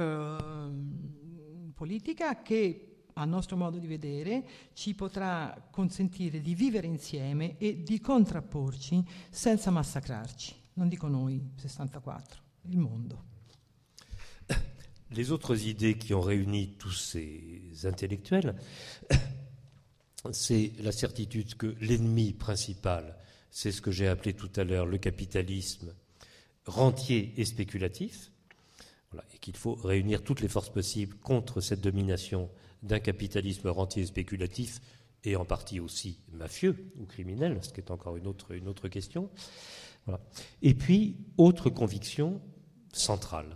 politica che, a nostro modo di vedere, ci potrà consentire di vivere insieme e di contrapporci senza massacrarci. Non dico noi, 64, il mondo. Les autres idées qui ont réuni tous ces intellectuels, c'est la certitude que l'ennemi principal, c'est ce que j'ai appelé tout à l'heure le capitalisme rentier et spéculatif, voilà, et qu'il faut réunir toutes les forces possibles contre cette domination d'un capitalisme rentier et spéculatif, et en partie aussi mafieux ou criminel, ce qui est encore une autre question. Voilà. Et puis, autre conviction centrale,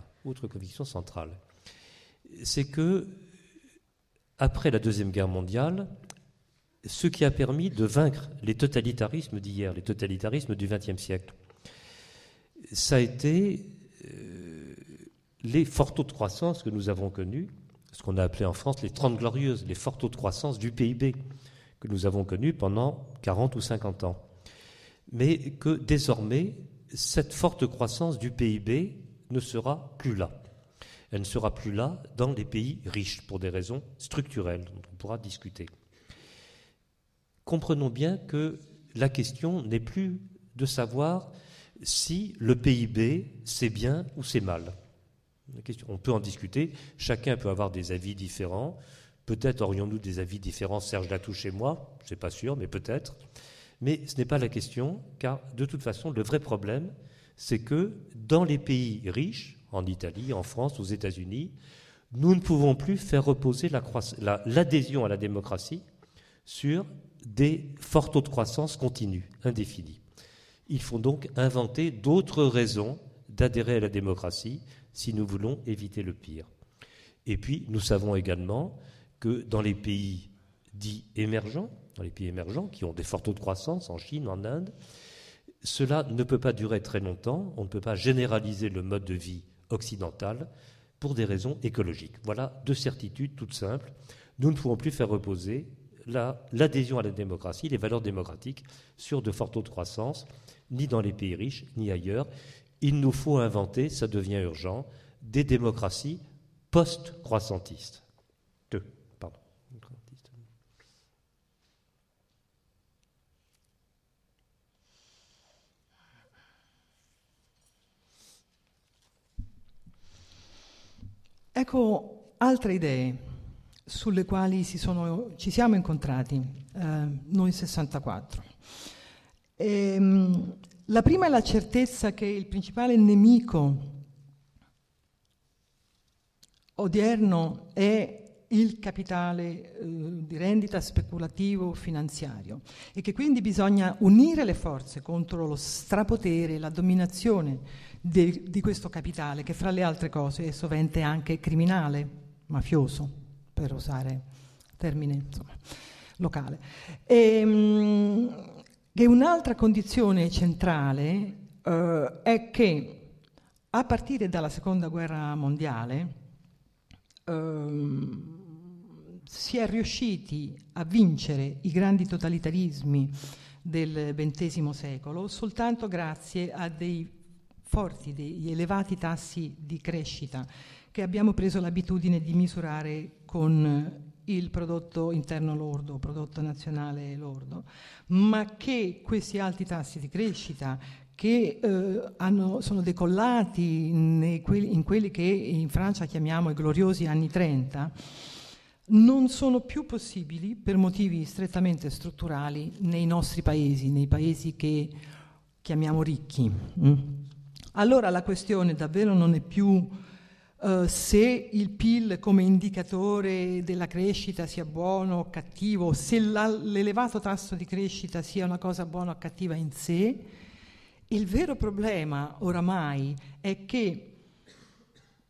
c'est que, après la Deuxième Guerre mondiale, ce qui a permis de vaincre les totalitarismes d'hier, les totalitarismes du XXe siècle, ça a été les forts taux de croissance que nous avons connus, ce qu'on a appelé en France les 30 glorieuses, les forts taux de croissance du PIB que nous avons connus pendant 40 ou 50 ans. Mais que désormais, cette forte croissance du PIB ne sera plus là. Elle ne sera plus là dans les pays riches pour des raisons structurelles dont on pourra discuter. Comprenons bien que la question n'est plus de savoir si le PIB c'est bien ou c'est mal. On peut en discuter, chacun peut avoir des avis différents. Peut-être aurions-nous des avis différents, Serge Latouche et moi, je ne suis pas sûr, mais peut-être. Mais ce n'est pas la question, car de toute façon, le vrai problème, c'est que dans les pays riches, en Italie, en France, aux États-Unis, nous ne pouvons plus faire reposer l'adhésion à la démocratie sur des forts taux de croissance continus, indéfinis. Il faut donc inventer d'autres raisons d'adhérer à la démocratie si nous voulons éviter le pire. Et puis, nous savons également que dans les pays dits émergents, qui ont des forts taux de croissance, en Chine, en Inde, cela ne peut pas durer très longtemps. On ne peut pas généraliser le mode de vie occidental pour des raisons écologiques. Voilà deux certitudes toutes simples. Nous ne pouvons plus faire reposer l'adhésion à la démocratie, les valeurs démocratiques, sur de forts taux de croissance, ni dans les pays riches, ni ailleurs. Il nous faut inventer, ça devient urgent, des démocraties post-croissantistes. Ecco altre idee sulle quali ci siamo incontrati noi 64. La prima è la certezza che il principale nemico odierno è il capitale di rendita speculativo finanziario e che quindi bisogna unire le forze contro lo strapotere, la dominazione di questo capitale, che fra le altre cose è sovente anche criminale, mafioso, per usare termine insomma, locale. Che un'altra condizione centrale è che a partire dalla Seconda Guerra Mondiale si è riusciti a vincere i grandi totalitarismi del XX secolo soltanto grazie a degli elevati tassi di crescita che abbiamo preso l'abitudine di misurare con il prodotto interno lordo, prodotto nazionale lordo, ma che questi alti tassi di crescita che sono decollati in quelli che in Francia chiamiamo i gloriosi anni 30, non sono più possibili per motivi strettamente strutturali nei nostri paesi, nei paesi che chiamiamo ricchi. Allora la questione davvero non è più se il PIL come indicatore della crescita sia buono o cattivo, se l'elevato tasso di crescita sia una cosa buona o cattiva in sé. Il vero problema oramai è che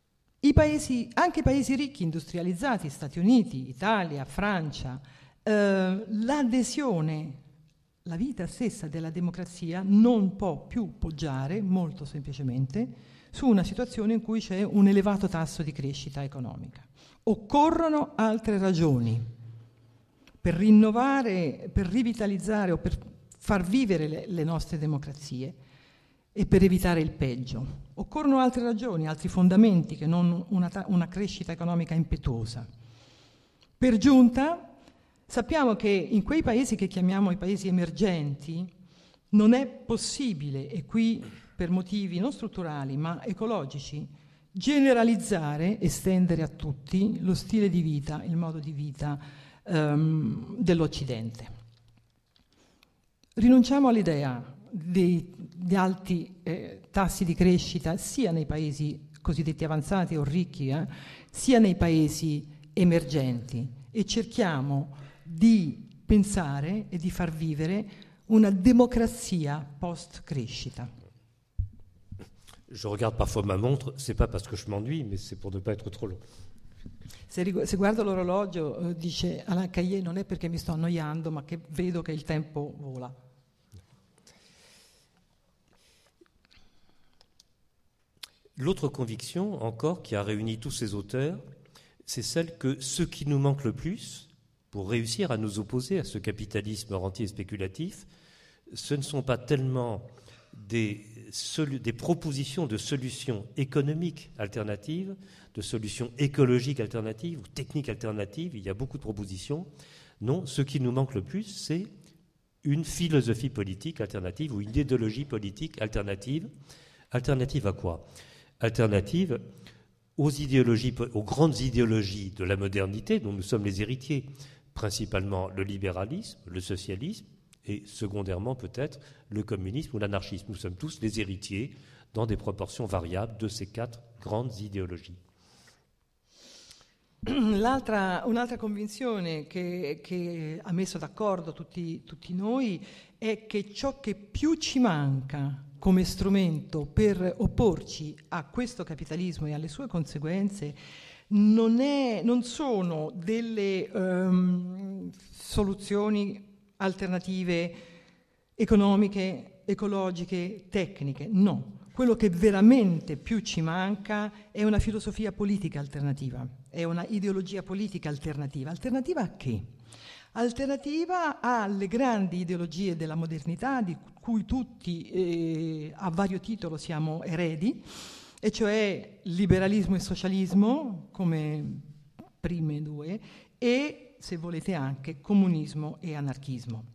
Anche i paesi ricchi, industrializzati, Stati Uniti, Italia, Francia, l'adesione, la vita stessa della democrazia non può più poggiare, molto semplicemente, su una situazione in cui c'è un elevato tasso di crescita economica. Occorrono altre ragioni per rinnovare, per rivitalizzare o per far vivere le nostre democrazie e per evitare il peggio. Occorrono altre ragioni, altri fondamenti che non una crescita economica impetuosa. Per giunta, sappiamo che in quei paesi che chiamiamo i paesi emergenti non è possibile, e qui per motivi non strutturali ma ecologici, generalizzare, estendere a tutti lo stile di vita, il modo di vita dell'Occidente. Rinunciamo all'idea di alti tassi di crescita sia nei paesi cosiddetti avanzati o ricchi, sia nei paesi emergenti, e cerchiamo di pensare e di far vivere una democrazia post-crescita. Je regarde parfois ma montre, c'est pas parce que je m'ennuie, mais c'est pour ne pas être trop long. Se guardo l'orologio, dice Alain Caillé, non è perché mi sto annoiando, ma che vedo che il tempo vola. L'autre conviction, encore, qui a réuni tous ces auteurs, c'est celle que ce qui nous manque le plus pour réussir à nous opposer à ce capitalisme rentier et spéculatif, ce ne sont pas tellement des propositions de solutions économiques alternatives, de solutions écologiques alternatives ou techniques alternatives. Il y a beaucoup de propositions. Non, ce qui nous manque le plus, c'est une philosophie politique alternative ou une idéologie politique alternative. Alternative à quoi ? Alternative aux idéologies, aux grandes idéologies de la modernité dont nous sommes les héritiers, principalement le libéralisme, le socialisme, et secondairement peut-être le communisme ou l'anarchisme. Nous sommes tous les héritiers dans des proportions variables de ces quatre grandes idéologie. Un'altra convinzione che ha messo d'accordo tutti noi è che ciò che più ci manca come strumento per opporci a questo capitalismo e alle sue conseguenze non sono delle soluzioni alternative economiche, ecologiche, tecniche, no. Quello che veramente più ci manca è una filosofia politica alternativa, è una ideologia politica alternativa. Alternativa a che? Alternativa alle grandi ideologie della modernità di cui tutti a vario titolo siamo eredi, e cioè liberalismo e socialismo come prime due, e se volete anche comunismo et anarchisme.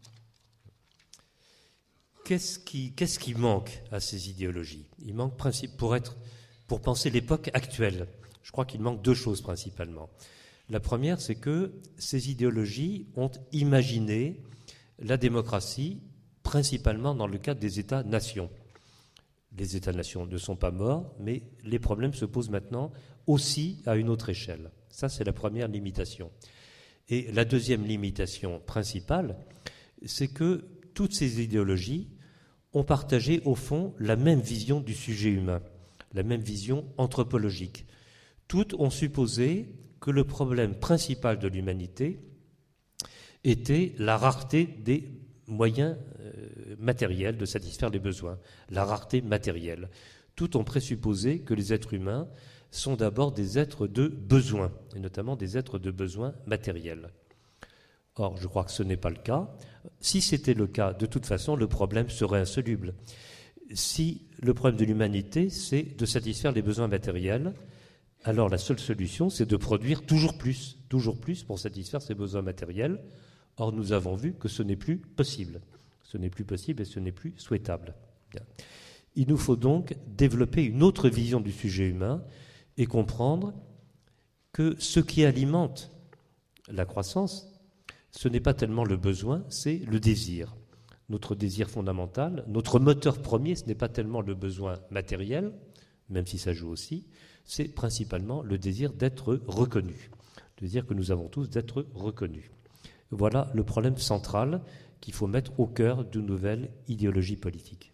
Qu'est-ce qui manque à ces idéologies ? Il manque pour penser l'époque actuelle. Je crois qu'il manque deux choses principalement. La première, c'est que ces idéologies ont imaginé la démocratie principalement dans le cadre des États-nations. Les États-nations ne sont pas morts, mais les problèmes se posent maintenant aussi à une autre échelle. Ça, c'est la première limitation. Et la deuxième limitation principale, c'est que toutes ces idéologies ont partagé au fond la même vision du sujet humain, la même vision anthropologique. Toutes ont supposé que le problème principal de l'humanité était la rareté des moyens matériels de satisfaire les besoins, la rareté matérielle. Toutes ont présupposé que les êtres humains sont d'abord des êtres de besoin, et notamment des êtres de besoin matériels. Or, je crois que ce n'est pas le cas. Si c'était le cas, de toute façon, le problème serait insoluble. Si le problème de l'humanité, c'est de satisfaire les besoins matériels, alors la seule solution, c'est de produire toujours plus pour satisfaire ces besoins matériels. Or, nous avons vu que ce n'est plus possible. Ce n'est plus possible et ce n'est plus souhaitable. Bien. Il nous faut donc développer une autre vision du sujet humain et comprendre que ce qui alimente la croissance, ce n'est pas tellement le besoin, c'est le désir. Notre désir fondamental, notre moteur premier, ce n'est pas tellement le besoin matériel, même si ça joue aussi, c'est principalement le désir d'être reconnu, le désir que nous avons tous d'être reconnus. Voilà le problème central qu'il faut mettre au cœur d'une nouvelle idéologie politique.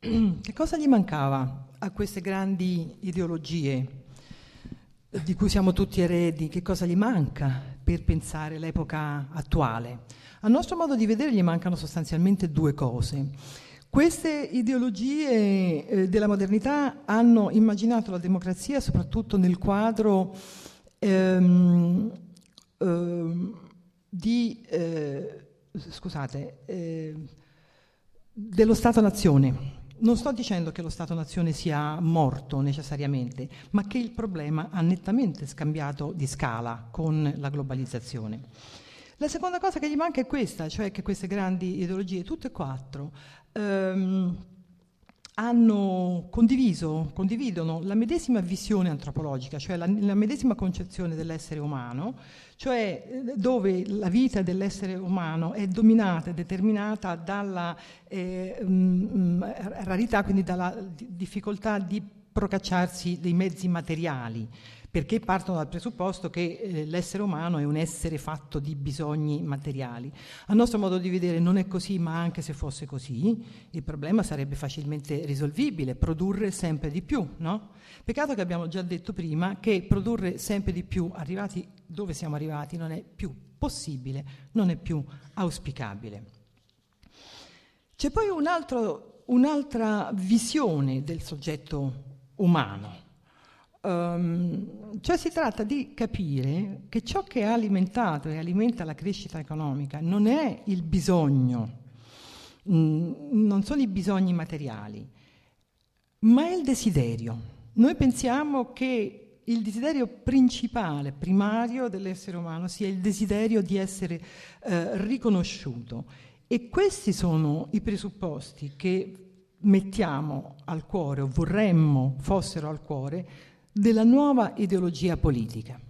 che cosa gli mancava a queste grandi ideologie di cui siamo tutti eredi? Che cosa gli manca per pensare l'epoca attuale? A nostro modo di vedere gli mancano sostanzialmente due cose. Queste ideologie della modernità hanno immaginato la democrazia soprattutto nel quadro dello Stato-nazione. Non sto dicendo che lo Stato-nazione sia morto necessariamente, ma che il problema ha nettamente scambiato di scala con la globalizzazione. La seconda cosa che gli manca è questa, cioè che queste grandi ideologie, tutte e quattro, condividono la medesima visione antropologica, cioè la medesima concezione dell'essere umano, cioè dove la vita dell'essere umano è dominata e determinata dalla rarità, quindi dalla difficoltà di procacciarsi dei mezzi materiali, perché partono dal presupposto che l'essere umano è un essere fatto di bisogni materiali. A nostro modo di vedere non è così, ma anche se fosse così, il problema sarebbe facilmente risolvibile, produrre sempre di più, no? Peccato che abbiamo già detto prima che produrre sempre di più, arrivati dove siamo arrivati, non è più possibile, non è più auspicabile. C'è poi un'altra visione del soggetto umano. Cioè si tratta di capire che ciò che ha alimentato e alimenta la crescita economica non è il bisogno, non sono i bisogni materiali, ma è il desiderio. Noi pensiamo che il desiderio principale, primario dell'essere umano sia il desiderio di essere riconosciuto, e questi sono i presupposti che mettiamo al cuore o vorremmo fossero al cuore della nuova idéologie politique.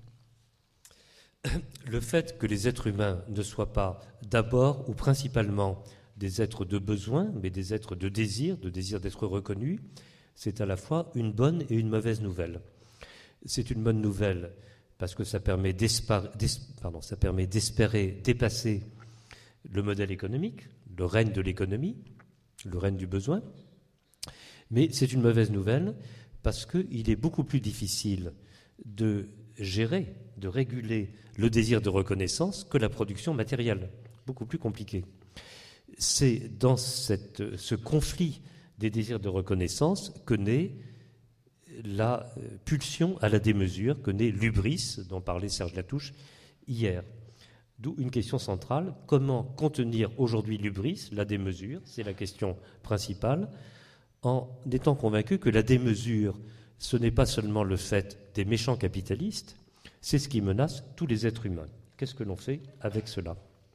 Le fait que les êtres humains ne soient pas d'abord ou principalement des êtres de besoin, mais des êtres de désir d'être reconnus, c'est à la fois une bonne et une mauvaise nouvelle. C'est une bonne nouvelle parce que ça permet d'espérer dépasser le modèle économique, le règne de l'économie, le règne du besoin, mais c'est une mauvaise nouvelle parce qu'il est beaucoup plus difficile de gérer, de réguler le désir de reconnaissance que la production matérielle, beaucoup plus compliqué. C'est dans ce conflit des désirs de reconnaissance que naît la pulsion à la démesure, que naît l'hubris dont parlait Serge Latouche hier. D'où une question centrale, comment contenir aujourd'hui l'hubris, la démesure, c'est la question principale, en étant convaincu que la démesure, ce n'est pas seulement le fait des méchants capitalistes, c'est ce qui menace tous les êtres humains. Qu'est-ce que l'on fait avec cela ?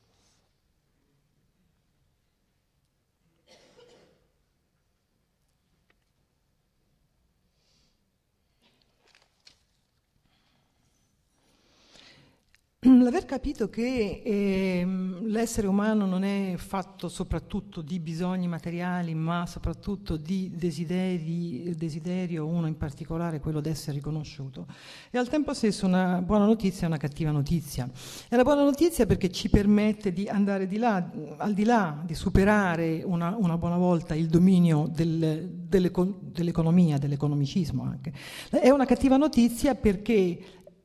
L'aver capito che l'essere umano non è fatto soprattutto di bisogni materiali, ma soprattutto di desiderio, uno in particolare, quello di essere riconosciuto, è al tempo stesso una buona notizia e una cattiva notizia. È una buona notizia perché ci permette di andare al di là, di superare una buona volta il dominio dell'economia, dell'economicismo anche. È una cattiva notizia perché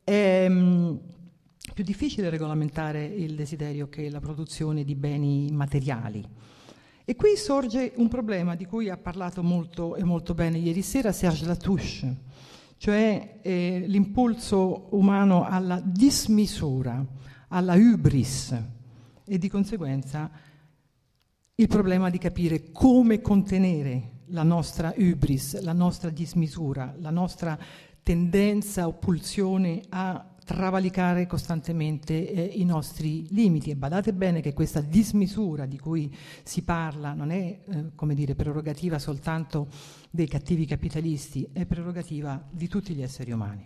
più difficile regolamentare il desiderio che la produzione di beni materiali. E qui sorge un problema di cui ha parlato molto e molto bene ieri sera Serge Latouche, cioè l'impulso umano alla dismisura, alla hubris, e di conseguenza il problema di capire come contenere la nostra hubris, la nostra dismisura, la nostra tendenza o pulsione a travalicare costantemente i nostri limiti. E badate bene che questa dismisura di cui si parla non è prerogativa soltanto dei cattivi capitalisti, è prerogativa di tutti gli esseri umani.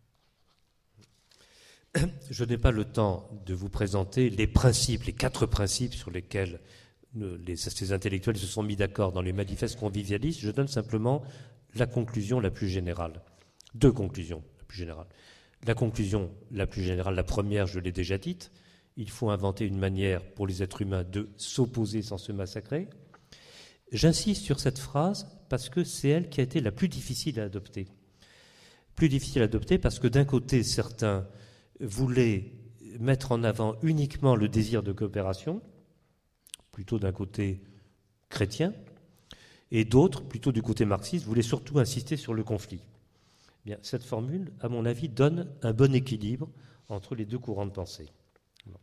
Je n'ai pas le temps de vous présenter les principes, les 4 principes sur lesquels ces intellectuels se sont mis d'accord dans les manifestes convivialistes. Je donne simplement la conclusion la plus générale. 2 conclusions la plus générales. La conclusion la plus générale, la première, je l'ai déjà dite, il faut inventer une manière pour les êtres humains de s'opposer sans se massacrer. J'insiste sur cette phrase parce que c'est elle qui a été la plus difficile à adopter. Plus difficile à adopter parce que d'un côté, certains voulaient mettre en avant uniquement le désir de coopération, plutôt d'un côté chrétien, et d'autres, plutôt du côté marxiste, voulaient surtout insister sur le conflit. Bien, cette formule, à mon avis, donne un bon équilibre entre les deux courants de pensée. Bon.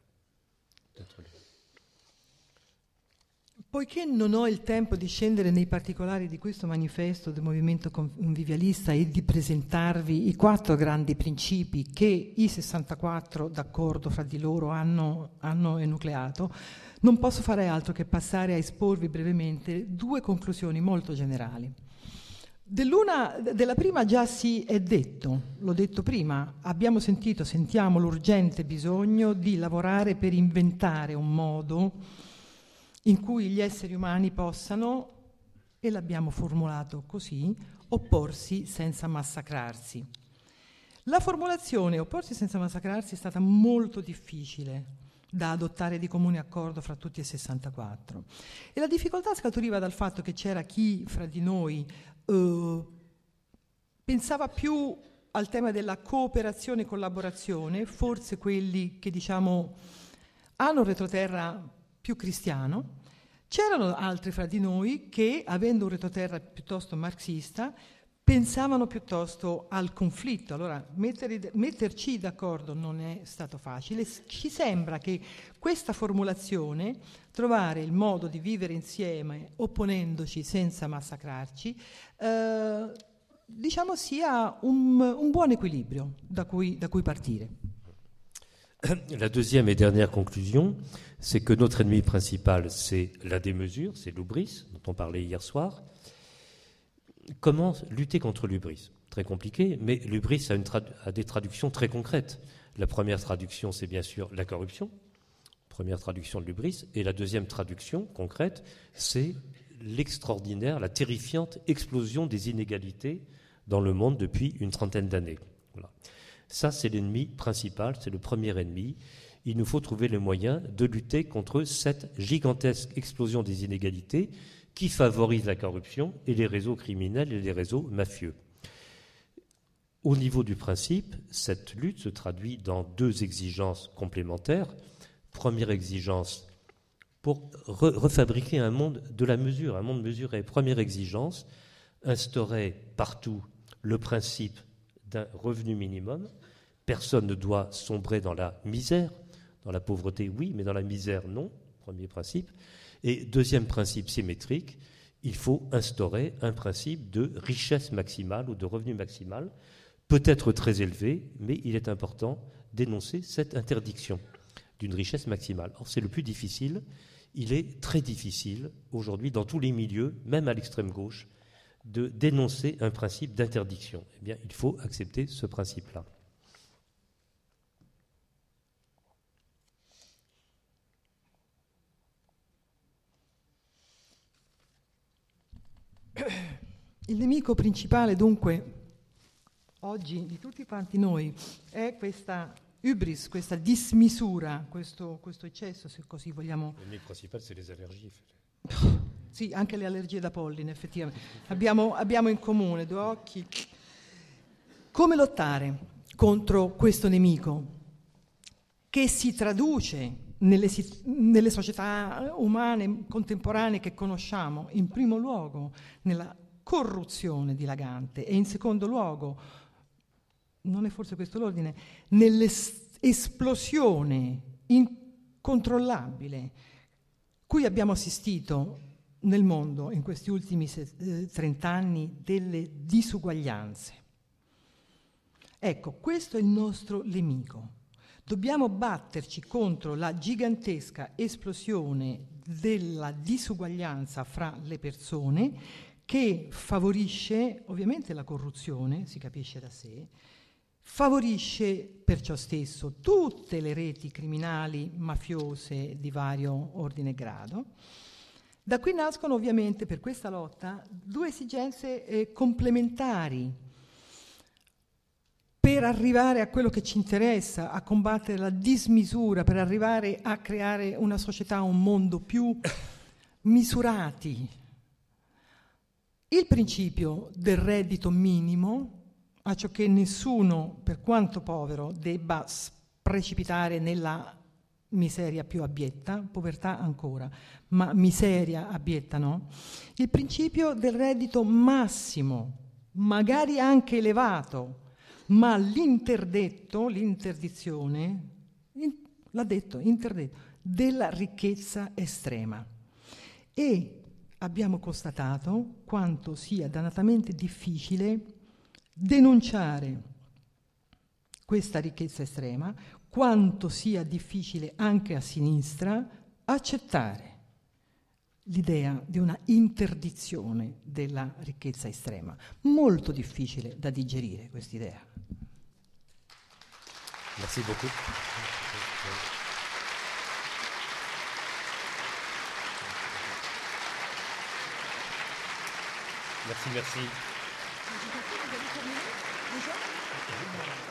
Poiché non ho il tempo di scendere nei particolari di questo manifesto del movimento convivialista e di presentarvi i 4 grandi principi che i 64 d'accordo fra di loro hanno enucleato, non posso fare altro che passare a esporvi brevemente 2 conclusioni molto generali. Della prima già si è detto, l'ho detto prima, sentiamo l'urgente bisogno di lavorare per inventare un modo in cui gli esseri umani possano, e l'abbiamo formulato così, opporsi senza massacrarsi. La formulazione opporsi senza massacrarsi è stata molto difficile da adottare di comune accordo fra tutti e 64. E la difficoltà scaturiva dal fatto che c'era chi fra di noi pensava più al tema della cooperazione e collaborazione, forse quelli che hanno un retroterra più cristiano. C'erano altri fra di noi che, avendo un retroterra piuttosto marxista, pensavano piuttosto al conflitto. Allora, metterci d'accordo non è stato facile. Ci sembra che questa formulazione, trovare il modo di vivere insieme opponendoci senza massacrarci, sia un buon equilibrio da cui partire. La deuxième et dernière conclusion, c'est que notre ennemi principal, c'est la démesure, c'est l'hubris, dont on parlait hier soir. Comment lutter contre l'hubris? Très compliqué, mais l'hubris a des traductions très concrètes. La première traduction, c'est bien sûr la corruption, première traduction de l'hubris, et la deuxième traduction concrète, c'est l'extraordinaire, la terrifiante explosion des inégalités dans le monde depuis une trentaine d'années. Voilà. Ça, c'est l'ennemi principal, c'est le premier ennemi. Il nous faut trouver le moyen de lutter contre cette gigantesque explosion des inégalités qui favorise la corruption et les réseaux criminels et les réseaux mafieux. Au niveau du principe, cette lutte se traduit dans 2 exigences complémentaires. Première exigence, pour refabriquer un monde de la mesure, un monde mesuré. Première exigence, instaurer partout le principe d'un revenu minimum. Personne ne doit sombrer dans la misère, dans la pauvreté, oui, mais dans la misère, non. Premier principe. Et deuxième principe symétrique, il faut instaurer un principe de richesse maximale ou de revenu maximal, peut-être très élevé, mais il est important d'énoncer cette interdiction d'une richesse maximale. Or, c'est le plus difficile. Il est très difficile aujourd'hui, dans tous les milieux, même à l'extrême gauche, de dénoncer un principe d'interdiction. Eh bien, il faut accepter ce principe-là. Il nemico principale, dunque, oggi di tutti quanti noi è questa hubris, questa dismisura, questo eccesso, se così vogliamo. Il nemico principale, c'est les allergies. Sì, anche le allergie da polline, effettivamente. Abbiamo in comune 2 occhi. Come lottare contro questo nemico che si traduce nelle società umane contemporanee che conosciamo, in primo luogo nella corruzione dilagante e in secondo luogo, non è forse questo l'ordine, nell'esplosione incontrollabile cui abbiamo assistito nel mondo in questi ultimi 30 anni delle disuguaglianze. Ecco, questo è il nostro nemico. Dobbiamo batterci contro la gigantesca esplosione della disuguaglianza fra le persone che favorisce ovviamente la corruzione, si capisce da sé, favorisce perciò stesso tutte le reti criminali mafiose di vario ordine e grado. Da qui nascono ovviamente per questa lotta 2 esigenze complementari per arrivare a quello che ci interessa, a combattere la dismisura, per arrivare a creare una società, un mondo più misurati Il principio del reddito minimo, a ciò che nessuno, per quanto povero, debba precipitare nella miseria più abietta, povertà ancora, ma miseria abietta no. Il principio del reddito massimo, magari anche elevato, ma l'interdizione, l'ha detto, interdetto, della ricchezza estrema. E abbiamo constatato quanto sia dannatamente difficile denunciare questa ricchezza estrema, quanto sia difficile anche a sinistra accettare l'idea di una interdizione della ricchezza estrema. Molto difficile da digerire quest'idea. Merci beaucoup. Merci.